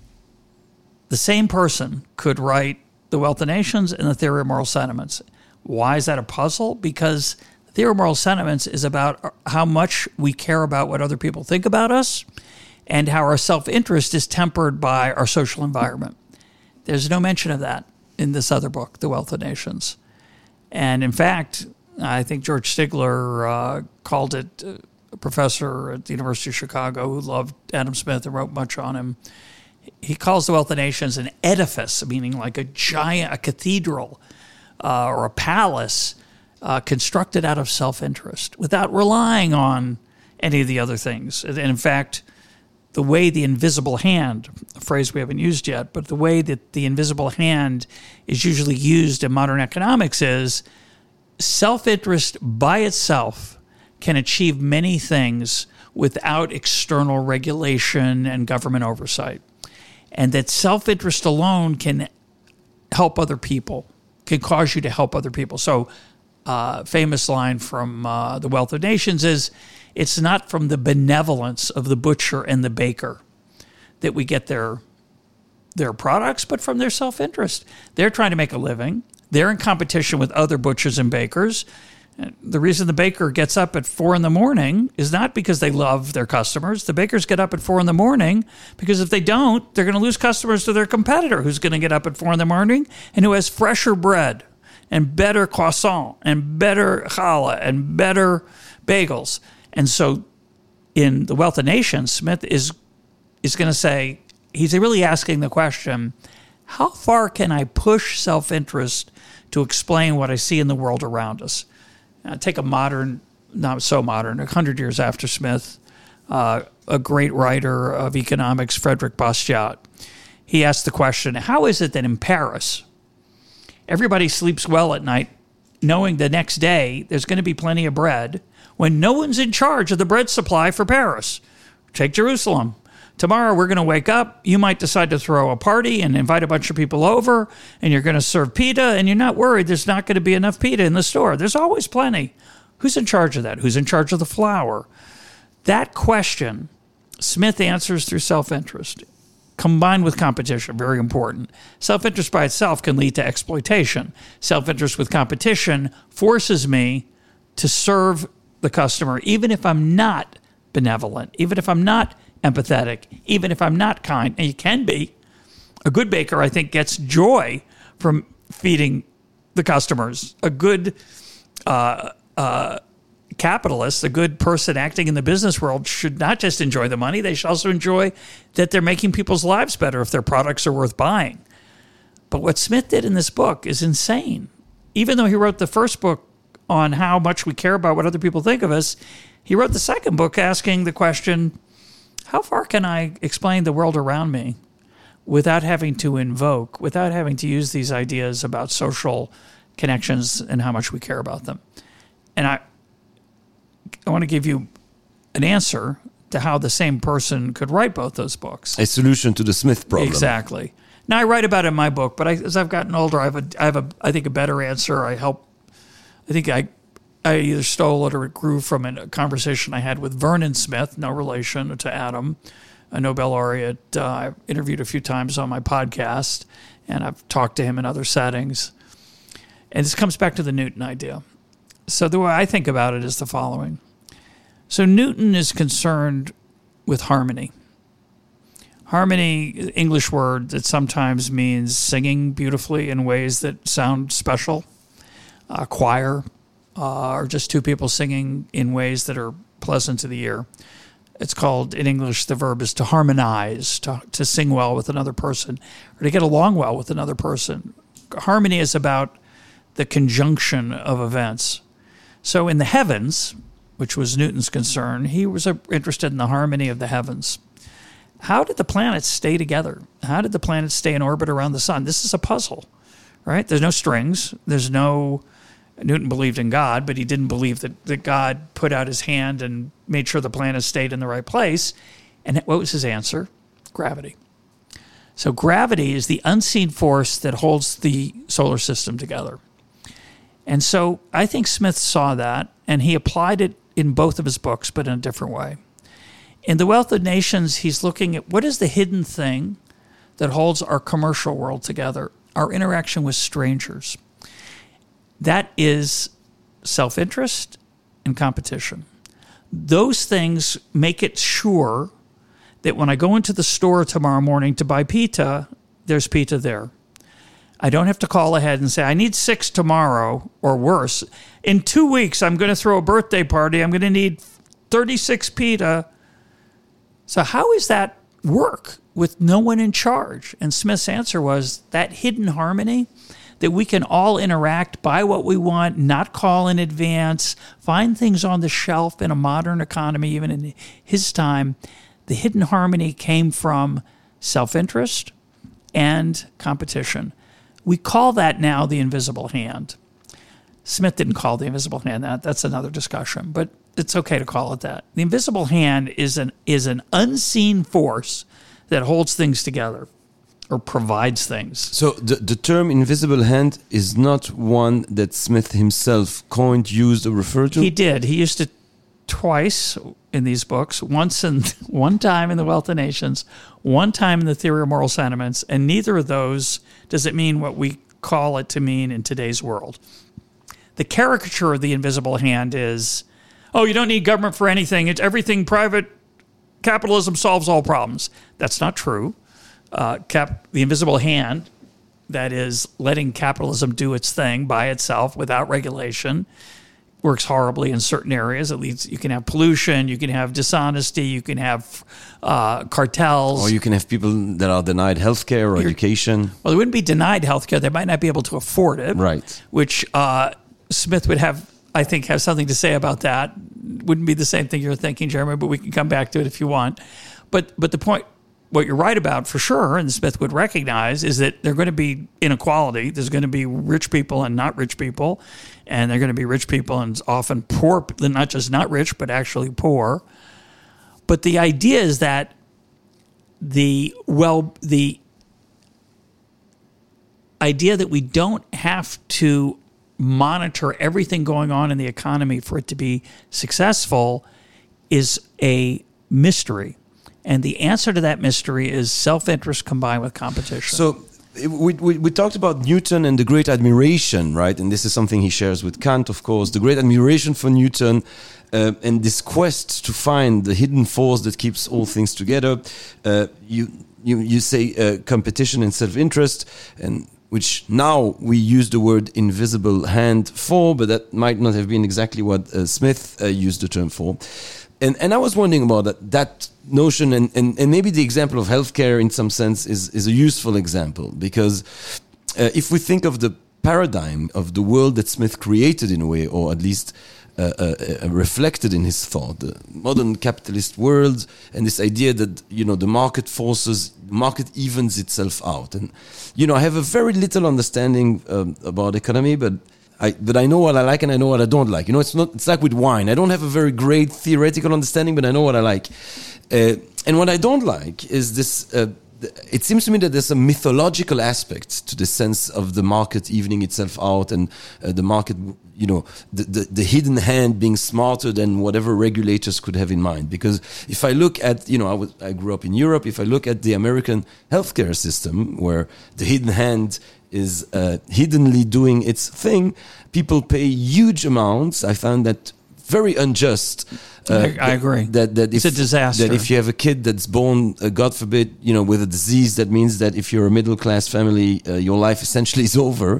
the same person could write The Wealth of Nations and The Theory of Moral Sentiments? Why is that a puzzle? Because the Theory of Moral Sentiments is about how much we care about what other people think about us and how our self-interest is tempered by our social environment. There's no mention of that in this other book, The Wealth of Nations. And in fact, I think George Stigler called it, a professor at the University of Chicago who loved Adam Smith and wrote much on him. He calls The Wealth of Nations an edifice, meaning like a cathedral or a palace constructed out of self-interest without relying on any of the other things. And in fact, the way the invisible hand, a phrase we haven't used yet, but the way that the invisible hand is usually used in modern economics is self-interest by itself can achieve many things without external regulation and government oversight. And that self-interest alone can help other people, can cause you to help other people. So famous line from The Wealth of Nations is, it's not from the benevolence of the butcher and the baker that we get their products, but from their self-interest. They're trying to make a living. They're in competition with other butchers and bakers. And the reason the baker gets up at 4 a.m. is not because they love their customers. The bakers get up at 4 a.m. because if they don't, they're going to lose customers to their competitor who's going to get up at 4 a.m. and who has fresher bread and better croissant and better challah and better bagels. And so in The Wealth of Nations, Smith is going to say, he's really asking the question, how far can I push self-interest to explain what I see in the world around us? Take a modern, not so modern, 100 years after Smith, a great writer of economics, Frederick Bastiat. He asked the question, how is it that in Paris, everybody sleeps well at night knowing the next day there's going to be plenty of bread when no one's in charge of the bread supply for Paris? Take Jerusalem. Tomorrow we're going to wake up. You might decide to throw a party and invite a bunch of people over, and you're going to serve pita, and you're not worried there's not going to be enough pita in the store. There's always plenty. Who's in charge of that? Who's in charge of the flour? That question, Smith answers through self-interest, combined with competition, very important. Self-interest by itself can lead to exploitation. Self-interest with competition forces me to serve the customer, even if I'm not benevolent, even if I'm not empathetic, even if I'm not kind. And you can be. A good baker, I think, gets joy from feeding the customers. A good capitalist, a good person acting in the business world, should not just enjoy the money, they should also enjoy that they're making people's lives better if their products are worth buying. But what Smith did in this book is insane. Even though he wrote the first book on how much we care about what other people think of us, he wrote the second book asking the question, how far can I explain the world around me without having to invoke, without having to use these ideas about social connections and how much we care about them? And I want to give you an answer to how the same person could write both those books. A solution to the Smith problem. Exactly. Now, I write about it in my book, but as I've gotten older, I have I think, a better answer. I think I either stole it or it grew from a conversation I had with Vernon Smith, no relation to Adam, a Nobel laureate I've interviewed a few times on my podcast, and I've talked to him in other settings. And this comes back to the Newton idea. So the way I think about it is the following. So Newton is concerned with harmony. Harmony, English word that sometimes means singing beautifully in ways that sound special, choir, or just two people singing in ways that are pleasant to the ear. It's called, in English, the verb is to harmonize, to sing well with another person, or to get along well with another person. Harmony is about the conjunction of events. So in the heavens, which was Newton's concern, he was interested in the harmony of the heavens. How did the planets stay together? How did the planets stay in orbit around the sun? This is a puzzle, right? There's no strings. Newton believed in God, but he didn't believe that God put out his hand and made sure the planets stayed in the right place. And what was his answer? Gravity. So gravity is the unseen force that holds the solar system together. And so I think Smith saw that, and he applied it in both of his books, but in a different way. In The Wealth of Nations, he's looking at what is the hidden thing that holds our commercial world together, our interaction with strangers. That is self-interest and competition. Those things make it sure that when I go into the store tomorrow morning to buy pita, there's pita there. I don't have to call ahead and say, I need 6 tomorrow, or worse. In 2 weeks, I'm going to throw a birthday party. I'm going to need 36 pita. So how does that work with no one in charge? And Smith's answer was that hidden harmony, that we can all interact, buy what we want, not call in advance, find things on the shelf in a modern economy, even in his time. The hidden harmony came from self-interest and competition. We call that now the invisible hand. Smith didn't call the invisible hand that. That's another discussion, but it's okay to call it that. The invisible hand is an unseen force that holds things together or provides things. So the term invisible hand is not one that Smith himself coined, used, or referred to? He did. He used it twice in these books, one time in The Wealth of Nations, one time in The Theory of Moral Sentiments, and neither of those does it mean what we call it to mean in today's world. The caricature of the invisible hand is, you don't need government for anything. It's everything private. Capitalism solves all problems. That's not true. The invisible hand, that is letting capitalism do its thing by itself without regulation, works horribly in certain areas. At least you can have pollution, you can have dishonesty, you can have cartels. Or you can have people that are denied healthcare or education. Well, they wouldn't be denied healthcare. They might not be able to afford it. Right. Which Smith would have something to say about that. Wouldn't be the same thing you're thinking, Jeremy, but we can come back to it if you want. But the point, what you're right about for sure, and Smith would recognize, is that there's going to be inequality. There's going to be rich people and not rich people, and they're going to be rich people and often poor, not just not rich, but actually poor. But the idea is that the idea that we don't have to monitor everything going on in the economy for it to be successful is a mystery. And the answer to that mystery is self-interest combined with competition. So we talked about Newton and the great admiration, right? And this is something he shares with Kant, of course. The great admiration for Newton and this quest to find the hidden force that keeps all things together. You say competition and self-interest, and which now we use the word invisible hand for, but that might not have been exactly what Smith used the term for. And I was wondering about that notion, and maybe the example of healthcare in some sense is a useful example, because if we think of the paradigm of the world that Smith created in a way, or at least reflected in his thought, the modern capitalist world, and this idea that, the market evens itself out. And, I have a very little understanding about economy, but I know what I like and I know what I don't like. It's like with wine. I don't have a very great theoretical understanding, but I know what I like. And what I don't like is this, it seems to me that there's a mythological aspect to the sense of the market evening itself out, and the market, the hidden hand being smarter than whatever regulators could have in mind. Because if I look at, I grew up in Europe, if I look at the American healthcare system, where the hidden hand is hiddenly doing its thing, people pay huge amounts. I found that very unjust. I agree. That it's a disaster. That if you have a kid that's born, God forbid, with a disease, that means that if you're a middle class family, your life essentially is over.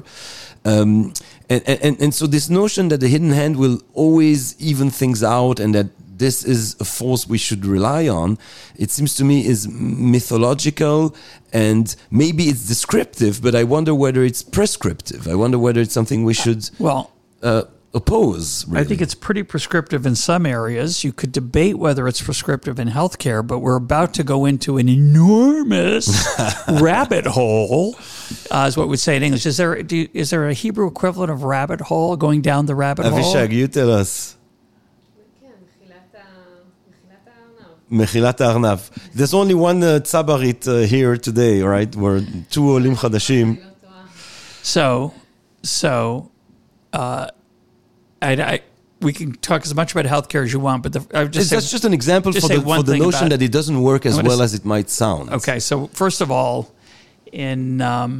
And so this notion that the hidden hand will always even things out, and that this is a force we should rely on, it seems to me is mythological, and maybe it's descriptive, but I wonder whether it's prescriptive. I wonder whether it's something we should oppose. Really. I think it's pretty prescriptive in some areas. You could debate whether it's prescriptive in healthcare, but we're about to go into an enormous rabbit hole, is what we'd say in English. Is there a Hebrew equivalent of rabbit hole, going down the rabbit hole? Avishag, you tell us. Mechilat Arnav. There's only one tzabarit here today, right? We're two olim chadashim. So, we can talk as much about healthcare as you want, but that's just an example for the notion that it doesn't work as well as it might sound. Okay, so first of all, in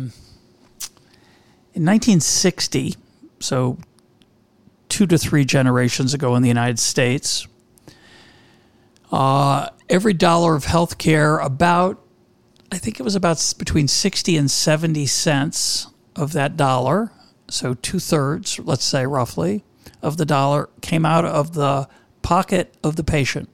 1960, so 2 to 3 generations ago in the United States, every dollar of healthcare, I think it was about between 60 and 70 cents of that dollar, so 2/3, let's say roughly, of the dollar came out of the pocket of the patient.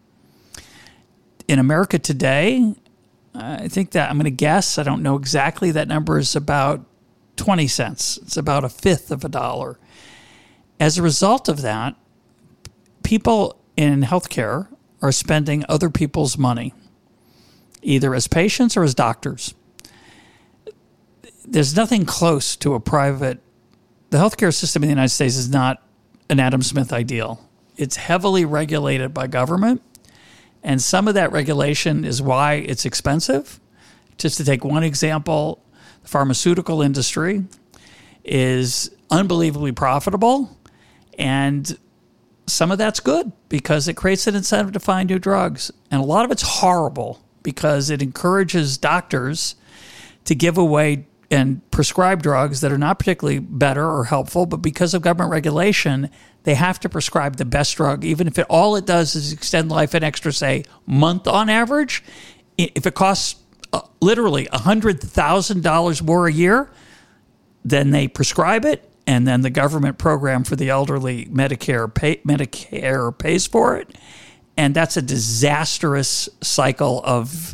In America today, I think that, I'm going to guess, I don't know exactly, that number is about 20 cents. It's about a fifth of a dollar. As a result of that, people in healthcare are spending other people's money, either as patients or as doctors. There's nothing close to a private. The healthcare system in the United States is not an Adam Smith ideal. It's heavily regulated by government, and some of that regulation is why it's expensive. Just to take one example, the pharmaceutical industry is unbelievably profitable, and some of that's good because it creates an incentive to find new drugs. And a lot of it's horrible because it encourages doctors to give away and prescribe drugs that are not particularly better or helpful, but because of government regulation, they have to prescribe the best drug, even if all it does is extend life an extra, say, month on average. If it costs literally $100,000 more a year, then they prescribe it, and then the government program for the elderly, Medicare pays for it. And that's a disastrous cycle of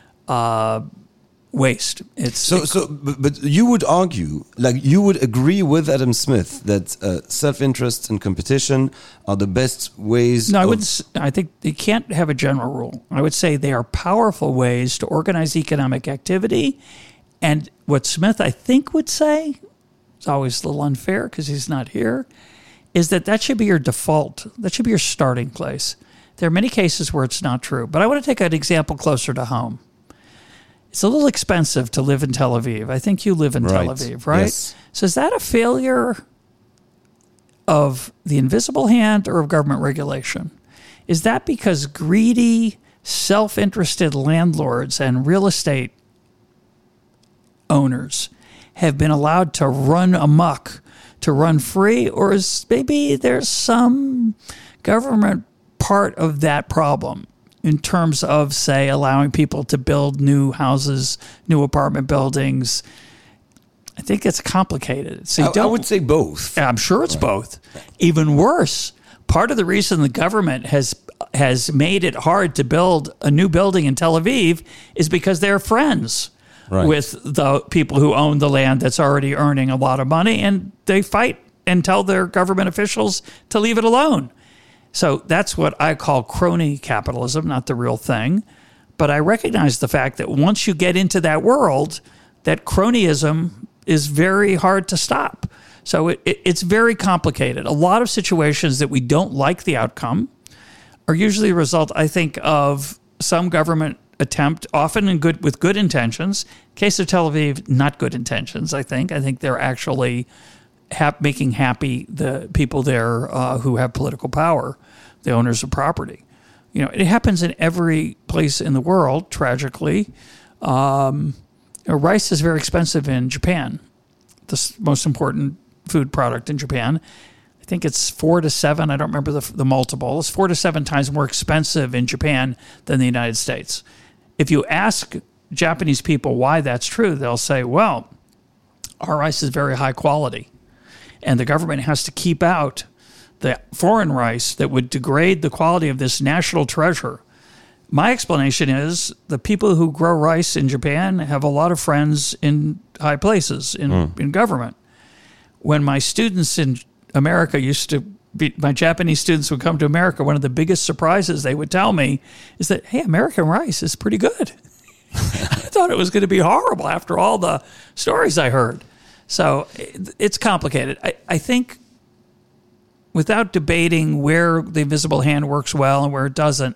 waste. But you would argue, you would agree with Adam Smith that self-interest and competition are the best ways. No, I think you can't have a general rule. I would say they are powerful ways to organize economic activity. And what Smith, I think, would say, it's always a little unfair because he's not here, is that should be your default. That should be your starting place. There are many cases where it's not true. But I want to take an example closer to home. It's a little expensive to live in Tel Aviv. I think you live in Tel Aviv, right? Yes. So is that a failure of the invisible hand or of government regulation? Is that because greedy, self-interested landlords and real estate owners have been allowed to run amok, to run free? Or is maybe there's some government part of that problem in terms of, say, allowing people to build new houses, new apartment buildings? I think it's complicated. So I would say both. I'm sure it's both. Even worse, part of the reason the government has made it hard to build a new building in Tel Aviv is because they're friends with the people who own the land that's already earning a lot of money, and they fight and tell their government officials to leave it alone. So that's what I call crony capitalism, not the real thing. But I recognize the fact that once you get into that world, that cronyism is very hard to stop. So it's very complicated. A lot of situations that we don't like the outcome are usually a result, I think, of some government attempt, often with good intentions. Case of Tel Aviv, not good intentions, I think. I think they're actually making happy the people there who have political power, the owners of property. You know, it happens in every place in the world, tragically. Rice is very expensive in Japan, the most important food product in Japan. I think it's 4 to 7. I don't remember the multiple. It's 4 to 7 times more expensive in Japan than the United States. If you ask Japanese people why that's true, they'll say, well, our rice is very high quality, and the government has to keep out the foreign rice that would degrade the quality of this national treasure. My explanation is the people who grow rice in Japan have a lot of friends in high places in government. When my students in America my Japanese students would come to America, one of the biggest surprises they would tell me is that, hey, American rice is pretty good. I thought it was going to be horrible after all the stories I heard. So it's complicated. I think without debating where the invisible hand works well and where it doesn't,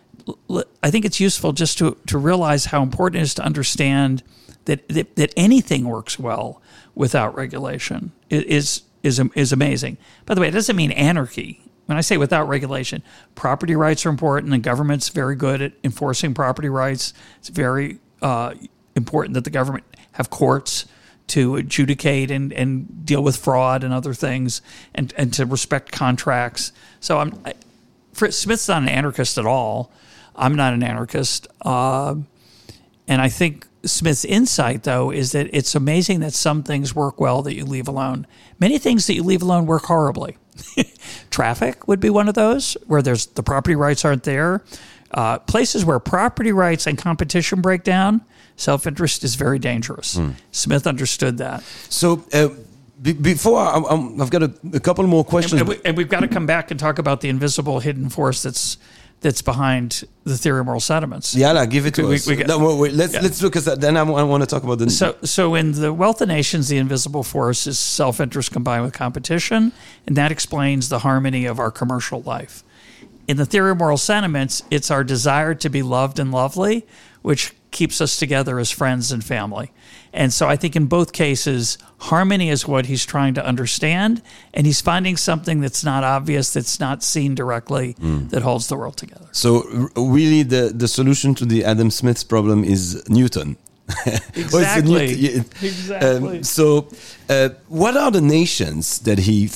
I think it's useful just to realize how important it is to understand that anything works well without regulation. It is amazing. By the way, it doesn't mean anarchy. When I say without regulation, property rights are important, and government's very good at enforcing property rights. It's very important that the government have courts to adjudicate and deal with fraud and other things, and to respect contracts. So Smith's not an anarchist at all. I'm not an anarchist. And I think Smith's insight, though, is that it's amazing that some things work well that you leave alone. Many things that you leave alone work horribly. Traffic would be one of those, where the property rights aren't there. Places where property rights and competition break down, self-interest is very dangerous. Smith understood that. So before, I've got a couple more questions. And we've got to come back and talk about the invisible hidden force that's behind the theory of moral sentiments. Yeah, give it to us. Let's look at that. Then I want to talk about the... So in The Wealth of Nations, the invisible force is self-interest combined with competition, and that explains the harmony of our commercial life. In the theory of moral sentiments, it's our desire to be loved and lovely, which keeps us together as friends and family. And so I think in both cases, harmony is what he's trying to understand, and he's finding something that's not obvious, that's not seen directly, that holds the world together. So really the solution to the Adam Smith's problem is Newton. Exactly. Exactly. So what are the nations that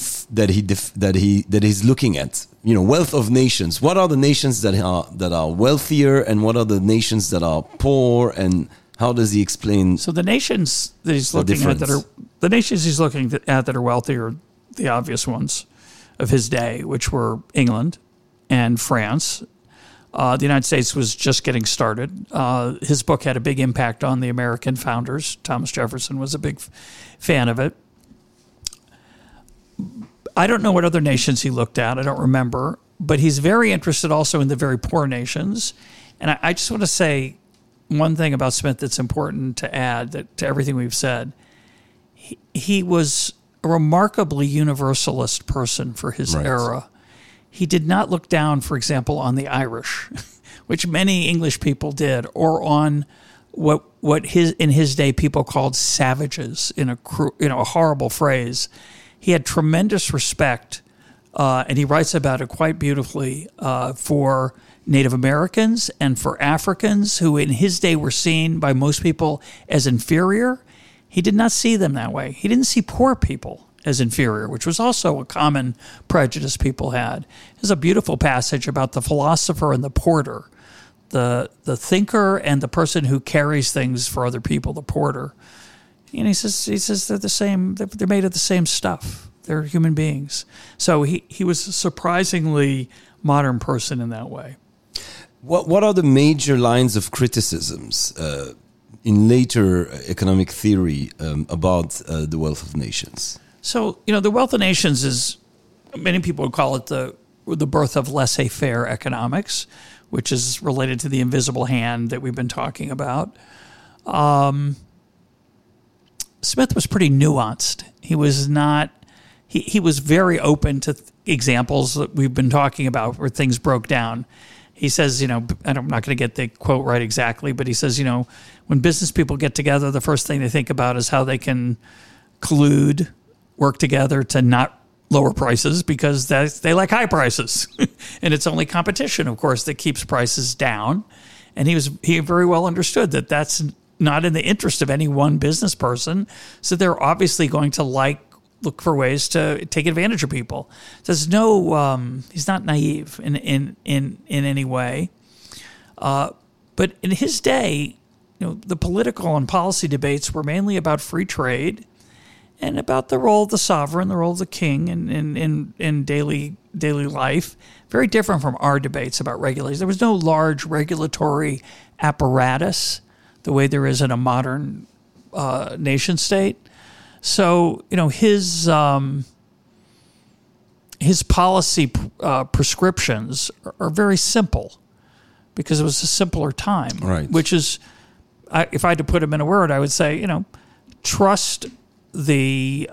he's looking at? You know, wealth of nations. What are the nations that are wealthier, and what are the nations that are poor, and how does he explain? So the nations that he's looking at that are wealthy are the obvious ones of his day, which were England and France. The United States was just getting started. His book had a big impact on the American founders. Thomas Jefferson was a big fan of it. I don't know what other nations he looked at. I don't remember. But he's very interested also in the very poor nations. And I just want to say one thing about Smith that's important to add to everything we've said. He was a remarkably universalist person for his era. He did not look down, for example, on the Irish, which many English people did, or on what in his day people called savages, in a horrible phrase. He had tremendous respect, and he writes about it quite beautifully, for Native Americans and for Africans who in his day were seen by most people as inferior. He did not see them that way. He didn't see poor people as inferior, which was also a common prejudice people had. There's a beautiful passage about the philosopher and the porter, the thinker and the person who carries things for other people, the porter. And he says they're the same. They're made of the same stuff. They're human beings. So he was a surprisingly modern person in that way. What are the major lines of criticisms in later economic theory about the wealth of nations? So, the wealth of nations is, many people would call it the birth of laissez-faire economics, which is related to the invisible hand that we've been talking about. Smith was pretty nuanced. He was not, he was very open to examples that we've been talking about where things broke down. He says, I'm not going to get the quote right exactly, but he says, when business people get together, the first thing they think about is how they can collude, work together to not lower prices because they like high prices. And it's only competition, of course, that keeps prices down. And he very well understood that that's not in the interest of any one business person. So they're obviously going to look for ways to take advantage of people. There's he's not naive in any way. But in his day, the political and policy debates were mainly about free trade and about the role of the sovereign, the role of the king in daily life. Very different from our debates about regulation. There was no large regulatory apparatus the way there is in a modern nation state. So, his policy prescriptions are very simple because it was a simpler time. Right. Which is, if I had to put them in a word, I would say, trust the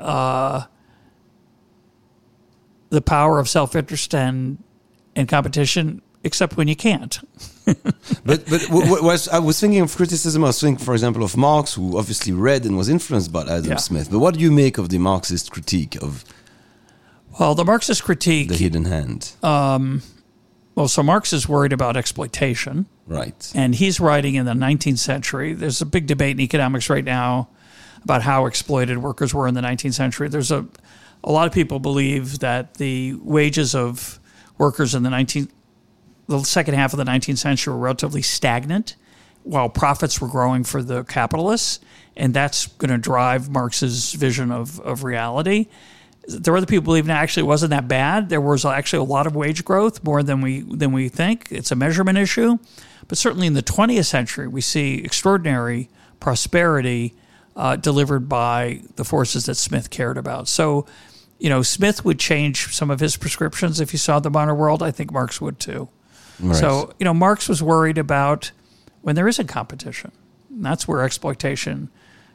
power of self-interest and competition, except when you can't. but I was thinking of criticism. I was thinking, for example, of Marx, who obviously read and was influenced by Adam Smith. But what do you make of the Marxist critique of? Well, the Marxist critique, the hidden hand. So Marx is worried about exploitation, right? And he's writing in the 19th century. There's a big debate in economics right now about how exploited workers were in the 19th century. There's a lot of people believe that the wages of workers in the second half of the 19th century were relatively stagnant while profits were growing for the capitalists, and that's going to drive Marx's vision of reality. There are other people believing actually it wasn't that bad. There was actually a lot of wage growth, more than we think. It's a measurement issue. But certainly in the 20th century, we see extraordinary prosperity delivered by the forces that Smith cared about. So, Smith would change some of his prescriptions if he saw the modern world. I think Marx would too. Right. So, Marx was worried about when there isn't competition. And that's where exploitation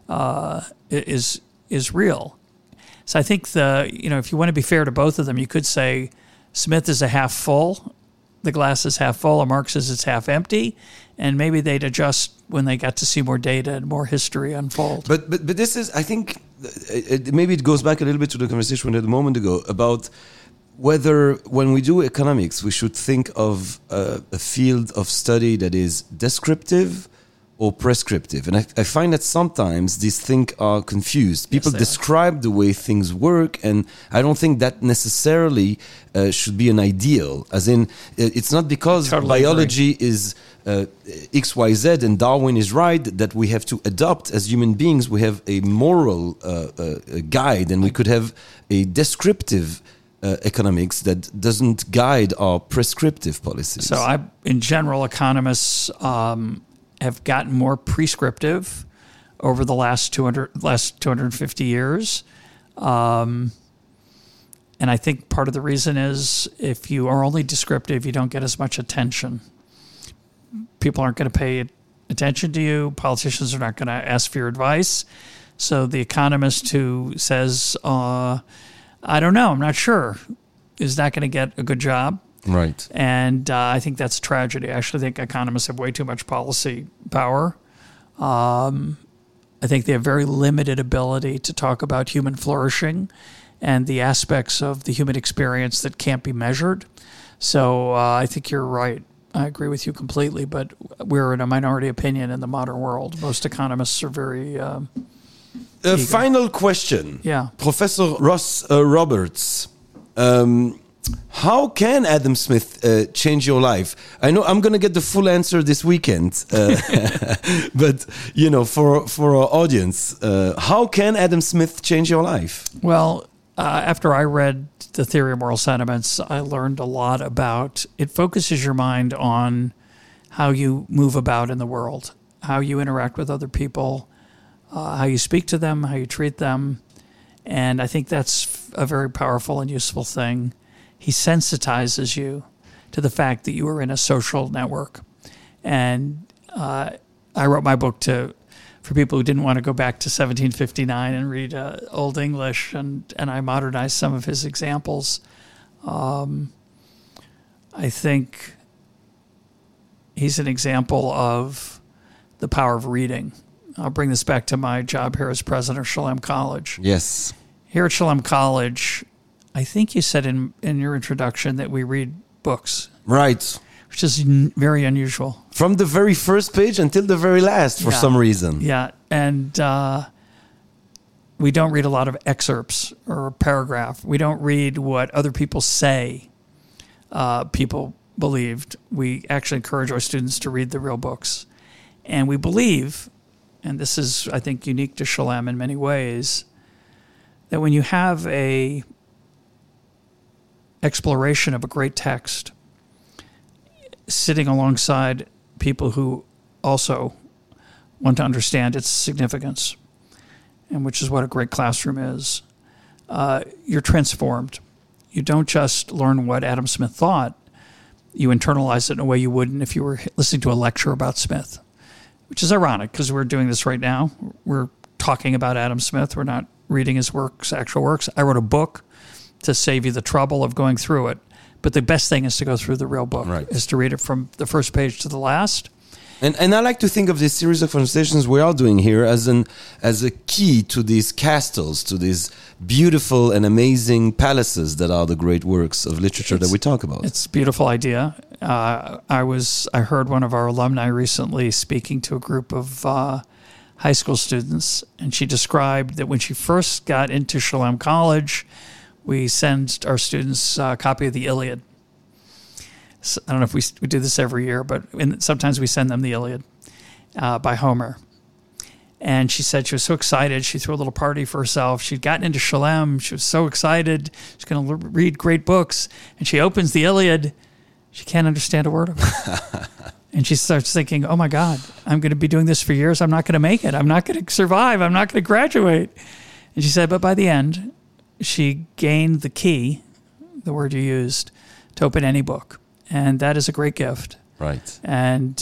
is real. So I think if you want to be fair to both of them, you could say Smith is a half full, the glass is half full, and Marx is it's half empty, and maybe they'd adjust when they got to see more data and more history unfold. But this is, I think, maybe it goes back a little bit to the conversation we had a moment ago about whether when we do economics, we should think of a field of study that is descriptive or prescriptive. And I find that sometimes these things are confused. People describe the way things work, and I don't think that necessarily should be an ideal. As in, it's not because biology is XYZ and Darwin is right that we have to adopt as human beings. We have a moral guide, and we could have a descriptive economics that doesn't guide our prescriptive policies. So in general, economists have gotten more prescriptive over the last 250 years. And I think part of the reason is if you are only descriptive, you don't get as much attention. People aren't going to pay attention to you. Politicians are not going to ask for your advice. So the economist who says, I don't know, I'm not sure, is not going to get a good job. Right. And I think that's a tragedy. I actually think economists have way too much policy power. I think they have very limited ability to talk about human flourishing and the aspects of the human experience that can't be measured. So I think you're right. I agree with you completely, but we're in a minority opinion in the modern world. Most economists are very final question. Yeah. Professor Ross Roberts. How can Adam Smith change your life? I know I'm going to get the full answer this weekend, but for our audience, how can Adam Smith change your life? Well, after I read The Theory of Moral Sentiments, I learned a lot about it. Focuses your mind on how you move about in the world, how you interact with other people, how you speak to them, how you treat them, and I think that's a very powerful and useful thing. He sensitizes you to the fact that you are in a social network. And I wrote my book for people who didn't want to go back to 1759 and read Old English, and I modernized some of his examples. I think he's an example of the power of reading. I'll bring this back to my job here as president of Shalem College. Yes. Here at Shalem College, I think you said in your introduction that we read books. Right. Which is very unusual. From the very first page until the very last, for some reason. Yeah, and we don't read a lot of excerpts or a paragraph. We don't read what other people say people believed. We actually encourage our students to read the real books. And we believe, and this is, I think, unique to Shalem in many ways, that when you have a exploration of a great text, sitting alongside people who also want to understand its significance, and which is what a great classroom is, you're transformed. You don't just learn what Adam Smith thought, you internalize it in a way you wouldn't if you were listening to a lecture about Smith, which is ironic because we're doing this right now. We're talking about Adam Smith. We're not reading his works, actual works. I wrote a book to save you the trouble of going through it. But the best thing is to go through the real book, is to read it from the first page to the last. And I like to think of this series of conversations we are doing here as a key to these castles, to these beautiful and amazing palaces that are the great works of literature that we talk about. It's a beautiful idea. I heard one of our alumni recently speaking to a group of high school students, and she described that when she first got into Shalem College, we send our students a copy of the Iliad. So, I don't know if we do this every year, but sometimes we send them the Iliad by Homer. And she said she was so excited. She threw a little party for herself. She'd gotten into Shalem. She was so excited. She's going to read great books. And she opens the Iliad. She can't understand a word of it. And she starts thinking, oh, my God, I'm going to be doing this for years. I'm not going to make it. I'm not going to survive. I'm not going to graduate. And she said, but by the end, she gained the key, the word you used, to open any book. And that is a great gift. Right. And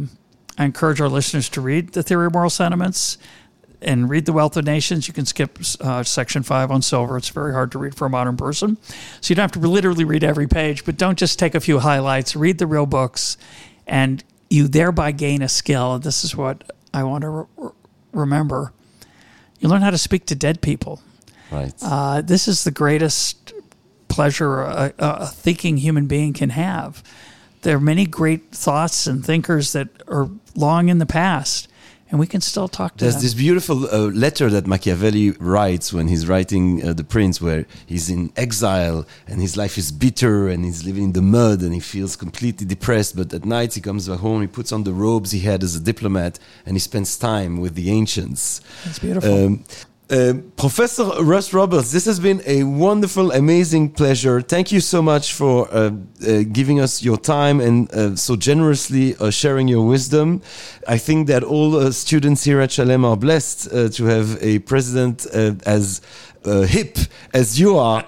I encourage our listeners to read The Theory of Moral Sentiments and read The Wealth of Nations. You can skip section 5 on silver. It's very hard to read for a modern person. So you don't have to literally read every page, but don't just take a few highlights. Read the real books, and you thereby gain a skill. This is what I want to remember. You learn how to speak to dead people. Right. This is the greatest pleasure a thinking human being can have. There are many great thoughts and thinkers that are long in the past, and we can still talk to them. There's this beautiful letter that Machiavelli writes when he's writing The Prince, where he's in exile and his life is bitter and he's living in the mud and he feels completely depressed. But at night he comes back home, he puts on the robes he had as a diplomat, and he spends time with the ancients. That's beautiful. Professor Russ Roberts, this has been a wonderful, amazing pleasure. Thank you so much for giving us your time and so generously sharing your wisdom. I think that all students here at Shalem are blessed to have a president as hip as you are,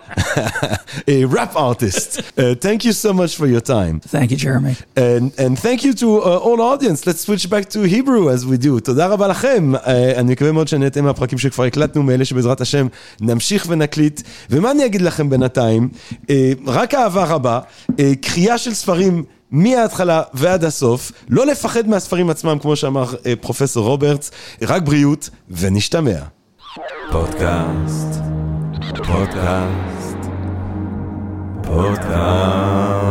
a rap artist. Thank you so much for your time. Thank you, Jeremy. And thank you to all audience. Let's switch back to Hebrew as we do. תודה רבה לכם. אני מקווה מאוד שנהנתם מהפרקים שכבר הקלטנו, מאלה שבעזרת השם נמשיך ונקליט. ומה אני אגיד לכם בינתיים? רק אהבה רבה, קריאה של ספרים מההתחלה ועד הסוף, לא לפחד מהספרים עצמם, כמו שאמר פרופסור רוברטס, רק בריאות ונשתמע. פודקאסט.